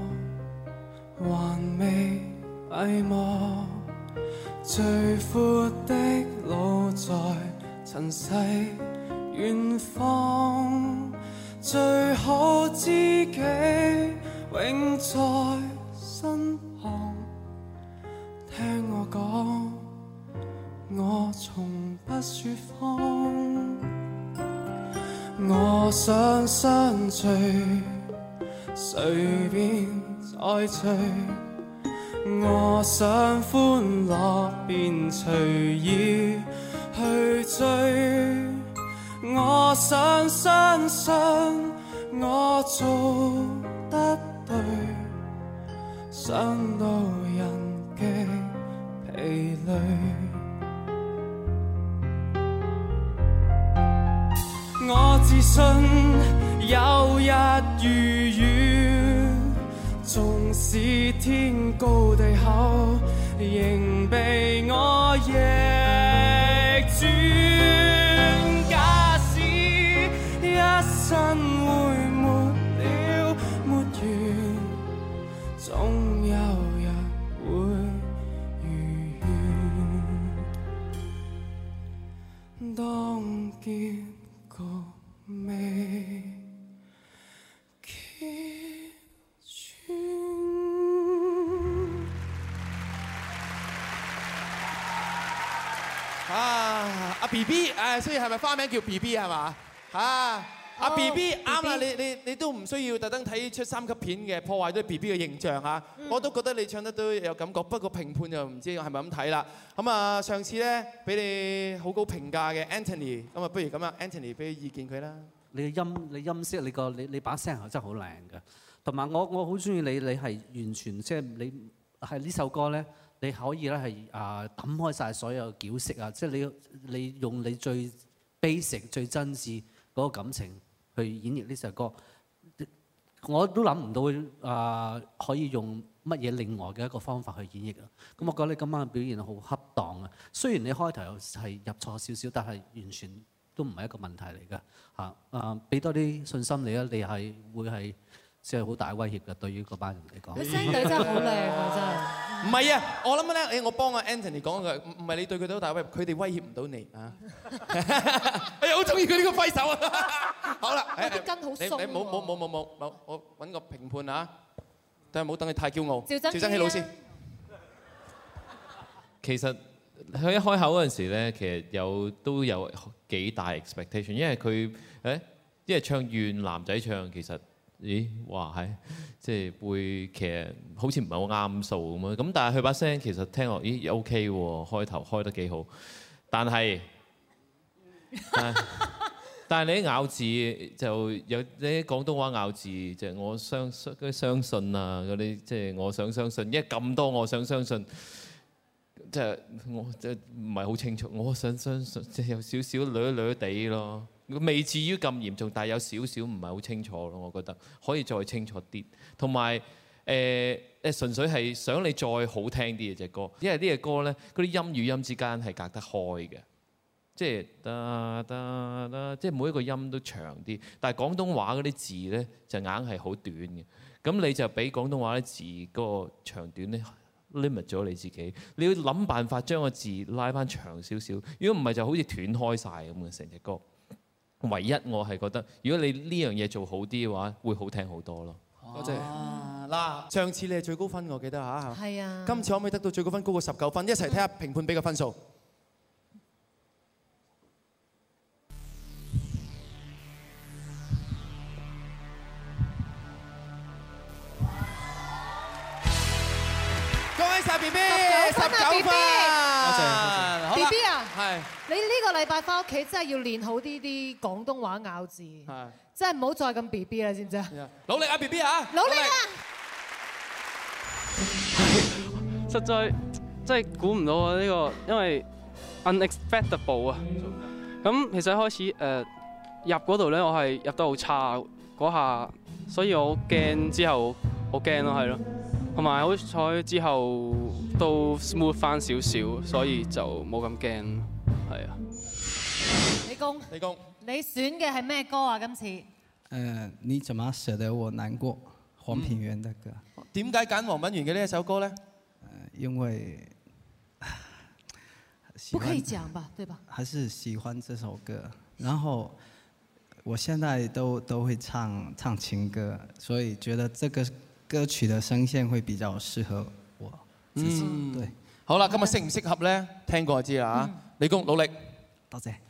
還未閉幕，最闊的路在塵世遠方，最好知己永在身旁。聽我講，我從不説謊。我想相聚，隨便再聚。我想歡樂，便隨意去追。我想相信，我做得對。想到人極疲累。我自信有日如願，縱使天高地厚，仍被我逆轉。假使一生會沒了沒完，總有日會如願。當結局未揭穿。 阿 BB， 所以係咪花名叫 BB 係嘛？阿 BB 啱啦，你都唔需要特登睇出3級片嘅破壞咗 BB 嘅形象啊！我都覺得你唱得都有感覺，不過評判就唔知係咪咁睇啦。咁啊，上次咧俾你好高評價嘅 Anthony， 咁啊不如咁啊 Anthony 俾意見佢啦。 你音色，你把聲係真係好靚嘅，同埋我好中意你係完全即係你係呢首歌咧，你可以咧係抌開晒所有矯飾啊，即係你用你最 basic 最真摯嗰個感情去演繹呢首歌。 我都諗唔到可以用乜嘢另外嘅一個方法去演繹啊！咁我覺得你今晚嘅表現好恰當啊！雖然你開頭係入錯少少，但係完全都唔係一個問題嚟㗎嚇。俾多啲信心你啊！你係會係即係好大威脅嘅，對於嗰班人嚟講。 佢聲底真係好靚啊！真係。 唔係啊，我諗咧，我幫阿 Anthony 講句，唔係你對佢哋好大威脅，佢哋威脅唔到你啊！哎呀，好中意佢呢個揮手啊！好啦， 啲筋好鬆。 你冇，我揾個評判啊！但係唔好等佢太驕傲。 趙增熹老師， 其實佢一開口嗰陣時咧，其實都有幾大 expectation， 因為佢因為唱願男仔唱，其實。咦，哇係，即係會其實好似唔係好啱數咁樣。咁但係佢把聲其實聽落，咦 OK 喎，開頭開得幾好。但係你啲咬字就有啲廣東話咬字，就係我相信啊嗰啲，即係我想相信，因為咁多我想相信，即係我即係唔係好清楚。我想相信，即係有少少略地咯。未至於咁嚴重，但係有少少唔係好清楚咯，我覺得可以再清楚啲。同埋純粹係想你再好聽啲嘅隻歌，因為呢隻歌咧，嗰啲音與音之間係隔得開嘅，即係即係每一個音都長啲。但係廣東話嗰啲字咧就硬係好短嘅，咁你就俾廣東話啲字嗰個長短咧 limit 咗你自己。你要諗辦法將個字拉翻長少少，如果唔係就好似斷開晒咁嘅成隻歌。唯一我係覺得，如果你呢樣嘢做好啲嘅話，會好聽好多咯。 多謝。嗱，上次你係最高分，我記得嚇。 係啊。 今次可唔可以得到最高分高過19分？一齊睇下評判俾個分數。恭喜晒 B B， 19分。多謝。 B B 啊， 係。 你呢個禮拜翻屋企真係要練好啲廣東話咬字，真係唔好再咁 B B 啦，知唔知啊？ 努力啊 B B 啊！ 努力啊！ 實在真係估唔到啊！呢個因為 unexpectable 啊。咁其實一開始入嗰度咧，我係入得好差嗰下，所以我好驚之後好驚咯，係咯。同埋好彩之後都 smooth 翻少少，所以就冇咁驚。係啊， 李公，你選嘅係咩歌啊？今次？ 你怎麼捨得我難過？黃品源的歌。 點解揀黃品源嘅呢一首歌呢？ 因為不可以講吧，對吧？ 還是喜歡這首歌，然後我現在都會唱情歌，所以覺得這個歌曲的聲線會比較適合我自己。對。 好啦，今日適唔適合呢？聽過就知啦嚇。李公努力， 多謝。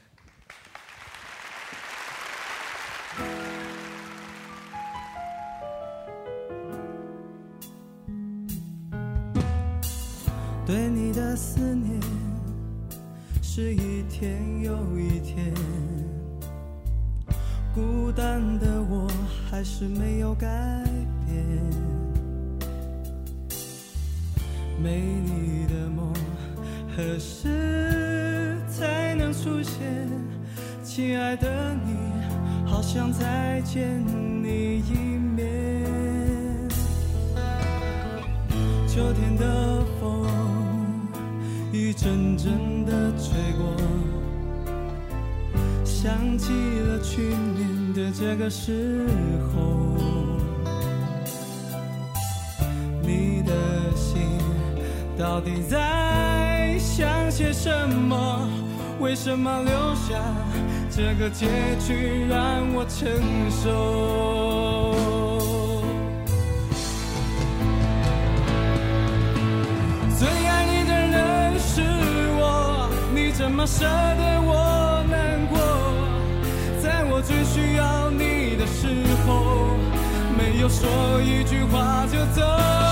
對你的思念是一天又一天，孤單的我還是沒有改變，沒你的夢何時才能出現？親愛的你，好想再見你一面。秋天的風一陣陣的吹過，想起了去年的這個時候，你的心到底在想些什麼？為什麼留下這個結局讓我承受？最愛你的人是我，你怎麼捨得我難過？在我最需要你的時候，沒有說一句話就走。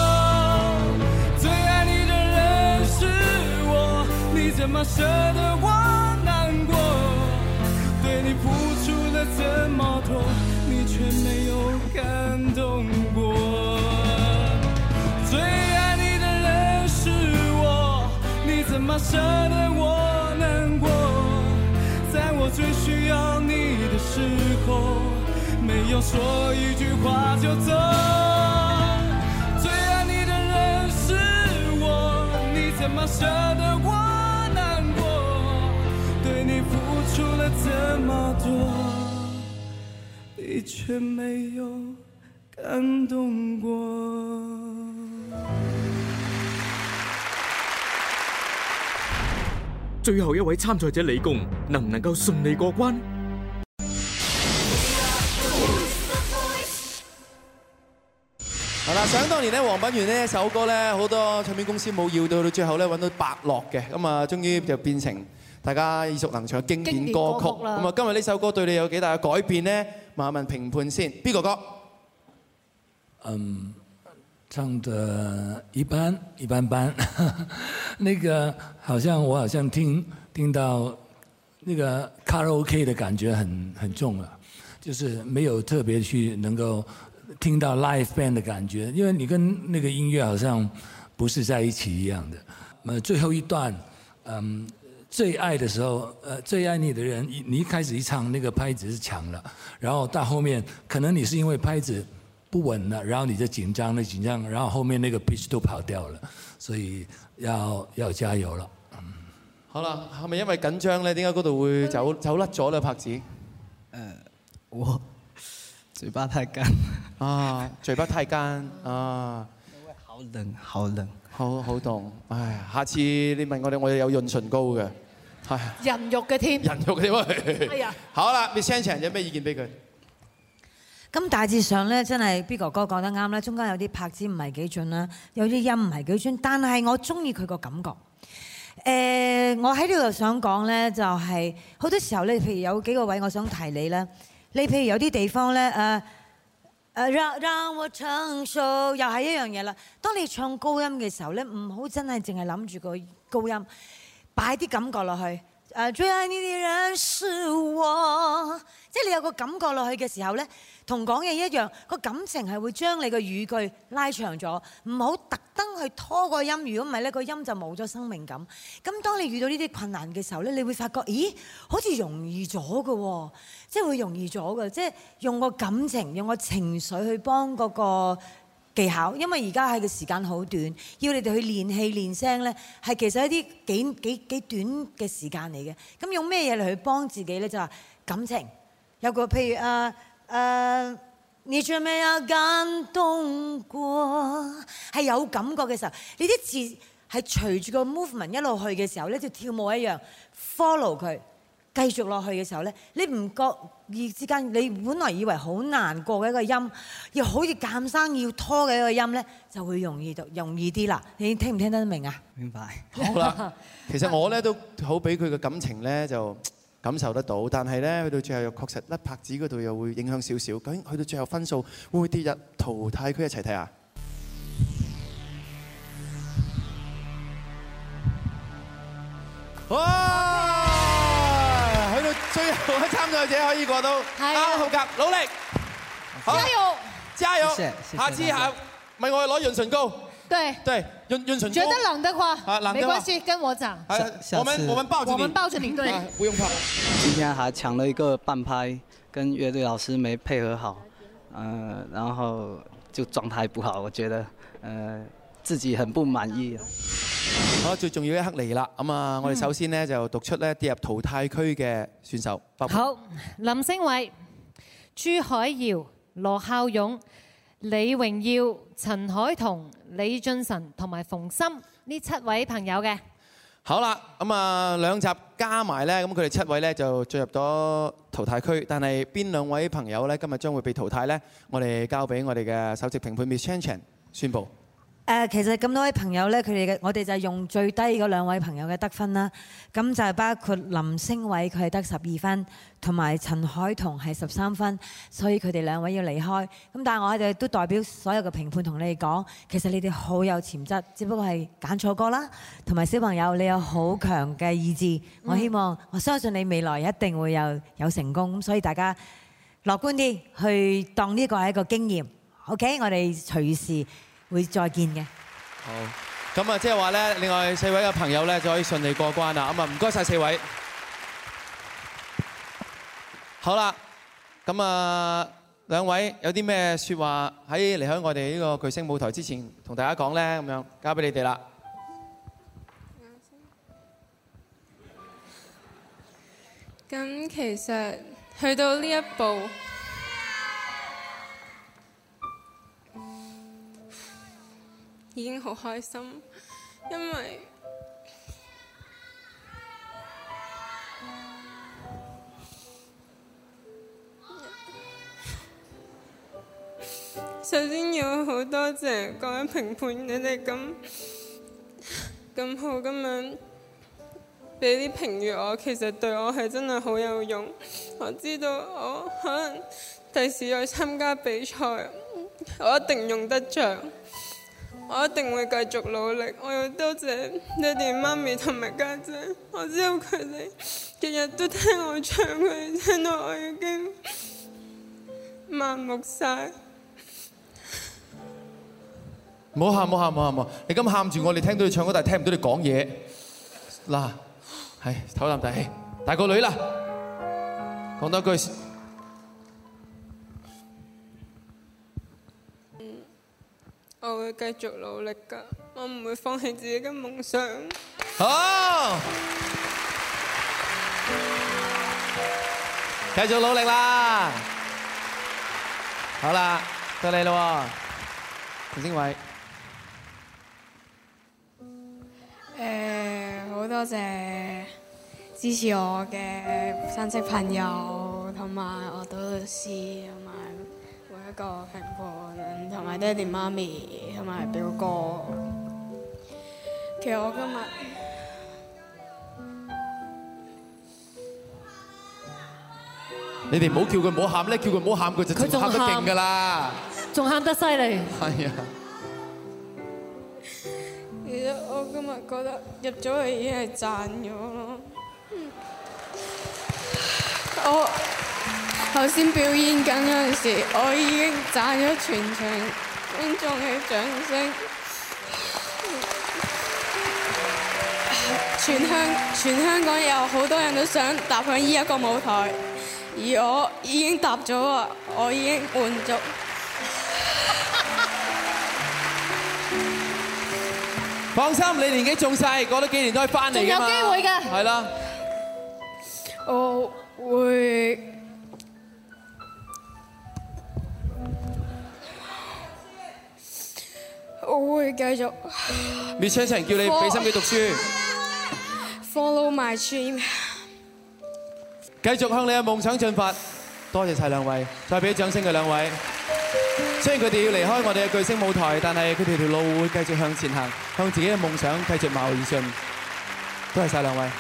你怎麼捨得我難過？對你付出了這麼多，你卻沒有感動過。最愛你的人是我，你怎麼捨得我難過？在我最需要你的時候，沒没有说一句话就走。最爱你的人是我，你怎么舍得我难过？对你付出了这么多，你却没有感动过。 最後一位參賽者李恭能唔能夠順利過關？ 係啦，想當年咧，黃品源呢一首歌咧，好多唱片公司冇要到最後咧揾到伯樂嘅，咁啊，終於就變成大家耳熟能詳嘅經典歌曲。咁啊，今日呢首歌對你有幾大嘅改變呢？問一問評判先，邊個歌？ 唱得一般一般般，那個好像我好像聽到那個卡拉 OK 的感覺很重啊，就是沒有特別去能夠聽到 live band 的感覺，因為你跟那個音樂好像不是在一起一樣的。最後一段，最愛的時候，最愛你的人，你一開始一唱那個拍子是強了，然後到後面可能你是因為拍子不穩了，然後你就緊張，然後後面那個 pitch 都跑掉了，所以要加油了。 好啦，係咪因為緊張咧？點解嗰度會走甩咗咧？拍子？ 我嘴巴太乾啊，嘴巴太乾啊， 好冷，好冷， 好凍。唉，下次你問我哋，我哋有潤唇膏嘅，係人肉嘅添， 人肉嘅添。 係啊。 好啦 ，Miss Chan Chan 有咩意見俾佢？ 咁大致上咧，真係 B 哥哥講得啱啦，中間有啲拍子唔係幾準啦，有啲音唔係幾準，但係我中意佢個感覺。我喺呢度想講咧，就係好多時候咧，譬如有幾個位我想提你咧，你譬如有啲地方咧，讓我承受，又係一樣嘢啦。當你唱高音嘅時候咧，唔好真係淨係諗住個高音，擺啲感覺落去。最愛你的人是我，即係你有個感覺落去嘅時候咧，同講嘢一樣，個感情係會將你個語句拉長咗，唔好特登去拖個音，如果唔係咧，個音就冇咗生命感。咁當你遇到呢啲困難嘅時候咧，你會發覺，咦，好似容易咗嘅喎，即係會容易咗嘅，即係用個感情、用個情緒去幫嗰個技巧，因為而家係個時間好短，要你哋去練氣練聲咧，係其實一啲幾短嘅時間嚟嘅。咁用咩嘢嚟去幫自己咧？就話感情，有個譬如你仲未有感動過，係有感覺嘅時候，你啲字係隨住個 movement 一路去嘅時候咧，就跳舞一樣 follow 佢。繼續落去嘅時候咧，你唔覺意之間，你本來以為好難過嘅一個音，又好似鑑生要拖嘅一個音咧，就會容易啲啦。你聽唔聽得明啊？ 明白。 好啦，其實我咧都好俾佢嘅感情咧就感受得到，但係咧去到最後又確實甩拍子嗰度又會影響少少。究竟去到最後分數會唔會跌入淘汰區？一齊睇下。哇！最後嘅參賽者可以過到啱合格，努力，加油，加油！下次咪我攞潤唇膏。對，潤唇膏。覺得冷的話，沒關係，跟我講。我們抱着你，對，不用怕。 今天還搶了一個半拍，跟樂隊老師沒配合好，然後就狀態不好，我覺得自己很不滿意。 好，最重要一刻嚟啦！咁啊，我哋首先呢就讀出咧跌入淘汰區嘅選手。 好，林星偉、朱海瑤、羅孝勇、李榮耀、陳凱彤、李俊晨同埋馮琛呢7位朋友嘅。 好啦，咁啊2集加埋咧，咁佢哋7位咧就進入咗淘汰區。但係邊2位朋友咧今日將會被淘汰咧？我哋交俾我哋嘅首席評判 Miss Chan Chan 宣佈。 其實咁多位朋友咧，我哋就係用最低嗰2位朋友嘅得分啦。咁就係包括林星偉，佢係得12分，同埋陳凱彤係13分，所以佢哋2位要離開。咁但係我哋都代表所有嘅評判同你哋講，其實你哋好有潛質，只不過係揀錯歌啦。同埋小朋友，你有好強嘅意志，我相信你未來一定會有成功。咁所以大家樂觀啲，去當呢個係一個經驗。OK， 我哋隨時會再見嘅。 好，咁啊，即係話咧，另外4位嘅朋友咧就可以順利過關啦。咁啊，唔該晒4位。好啦，咁啊， 兩位有啲咩説話喺離開我哋呢個巨聲舞台之前同大家講呢？咁樣交俾你哋啦。 咁其實去到呢一步，已經好開心，因為首先要好多謝各位評判，你哋咁好咁樣俾啲評語我，其實對我係真係好有用。我知道我可能第時再參加比賽，我一定用得着，我一定會繼續努力。我要多謝爹哋媽咪同埋家姐，我知道佢哋日日都聽我唱，佢哋聽到我已經麻木晒。 唔好喊，唔好喊，唔好喊！你咁喊住我，哋聽到你唱歌，但係聽唔到你講嘢。嗱，係唞啖大氣，大個女啦，講多句。 我會繼續努力㗎，我唔會放棄自己嘅夢想。 好，繼續努力啦！好啦，到你咯，陳星偉。 好多謝支持我嘅親戚朋友，同埋我導師，同埋每一個評判，同埋爹哋媽咪，同埋表哥。其實我今日你哋唔好叫佢唔好喊咧，叫佢唔好喊，佢就仲喊得勁㗎啦， 仲喊得犀利。 係啊。 其實我今日覺得入咗去已經係賺咗咯。我頭先表演緊嗰陣時，我已經賺咗全場觀眾嘅掌聲。全香港有好多人都想踏上呢一個舞台，而我已經踏咗啊！我已經滿足。 放心，你年紀仲細，過多幾年都可以翻嚟㗎嘛。 仲有機會㗎。 係啦。 我會繼續。 滅車人叫你俾心機讀書。 Follow my dream。 繼續向你嘅夢想進發。多謝曬兩位，再俾啲掌聲佢兩位。雖然佢哋要離開我哋嘅巨聲舞台，但係佢哋條路會繼續向前行，向自己嘅夢想繼續邁而進。多謝曬兩位。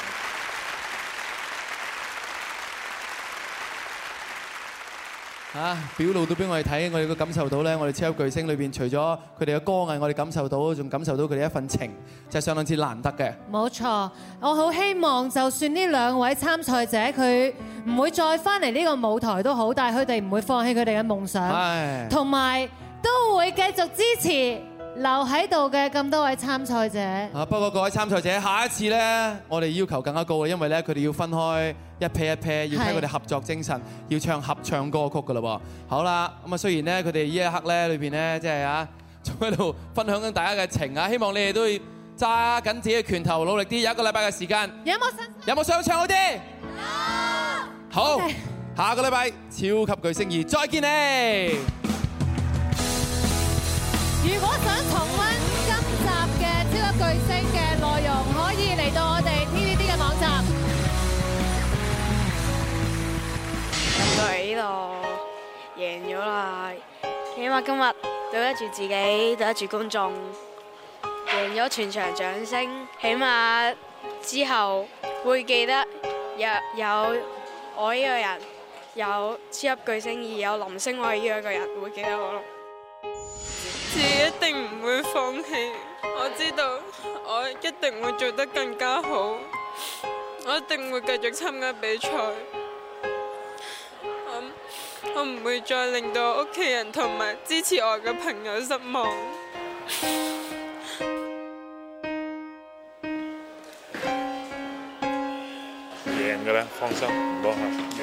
表露到俾我哋睇，我哋都感受到咧，我哋超級巨聲裏邊除咗佢哋嘅歌藝，我哋感受到，仲感受到佢哋一份情，就係相當之難得嘅。 冇錯，我好希望就算呢兩位參賽者佢唔會再翻嚟呢個舞台都好，但係佢哋唔會放棄佢哋嘅夢想，同埋都會繼續支持留喺度嘅咁多位參賽者。 不過各位參賽者，下一次咧，我哋要求更加高嘅，因為咧佢哋要分開一 pair 一 pair，要睇佢哋合作精神，要唱合唱歌曲噶啦喎。好啦，咁啊雖然咧佢哋呢一刻咧裏邊咧即係啊，仲喺度分享緊大家嘅情啊，希望你哋都要揸緊自己嘅拳頭，努力啲，有一個禮拜嘅時間。有冇想唱好啲？好，下個禮拜超級巨聲2再見你。 如果想重溫今集嘅超級巨聲嘅內容，可以嚟到我哋 TVB 嘅網站。 入到嚟呢度贏咗啦，起碼今日對得住自己，對得住觀眾，贏咗全場掌聲。起碼之後會記得有我呢個人，有超級巨聲2，有林星偉呢一個人會記得我咯。 自己一定唔會放棄，我知道我一定會做得更加好，我一定會繼續參加比賽。我唔會再令到屋企人同埋支持我嘅朋友失望。 贏嘅啦，放心，唔好喊。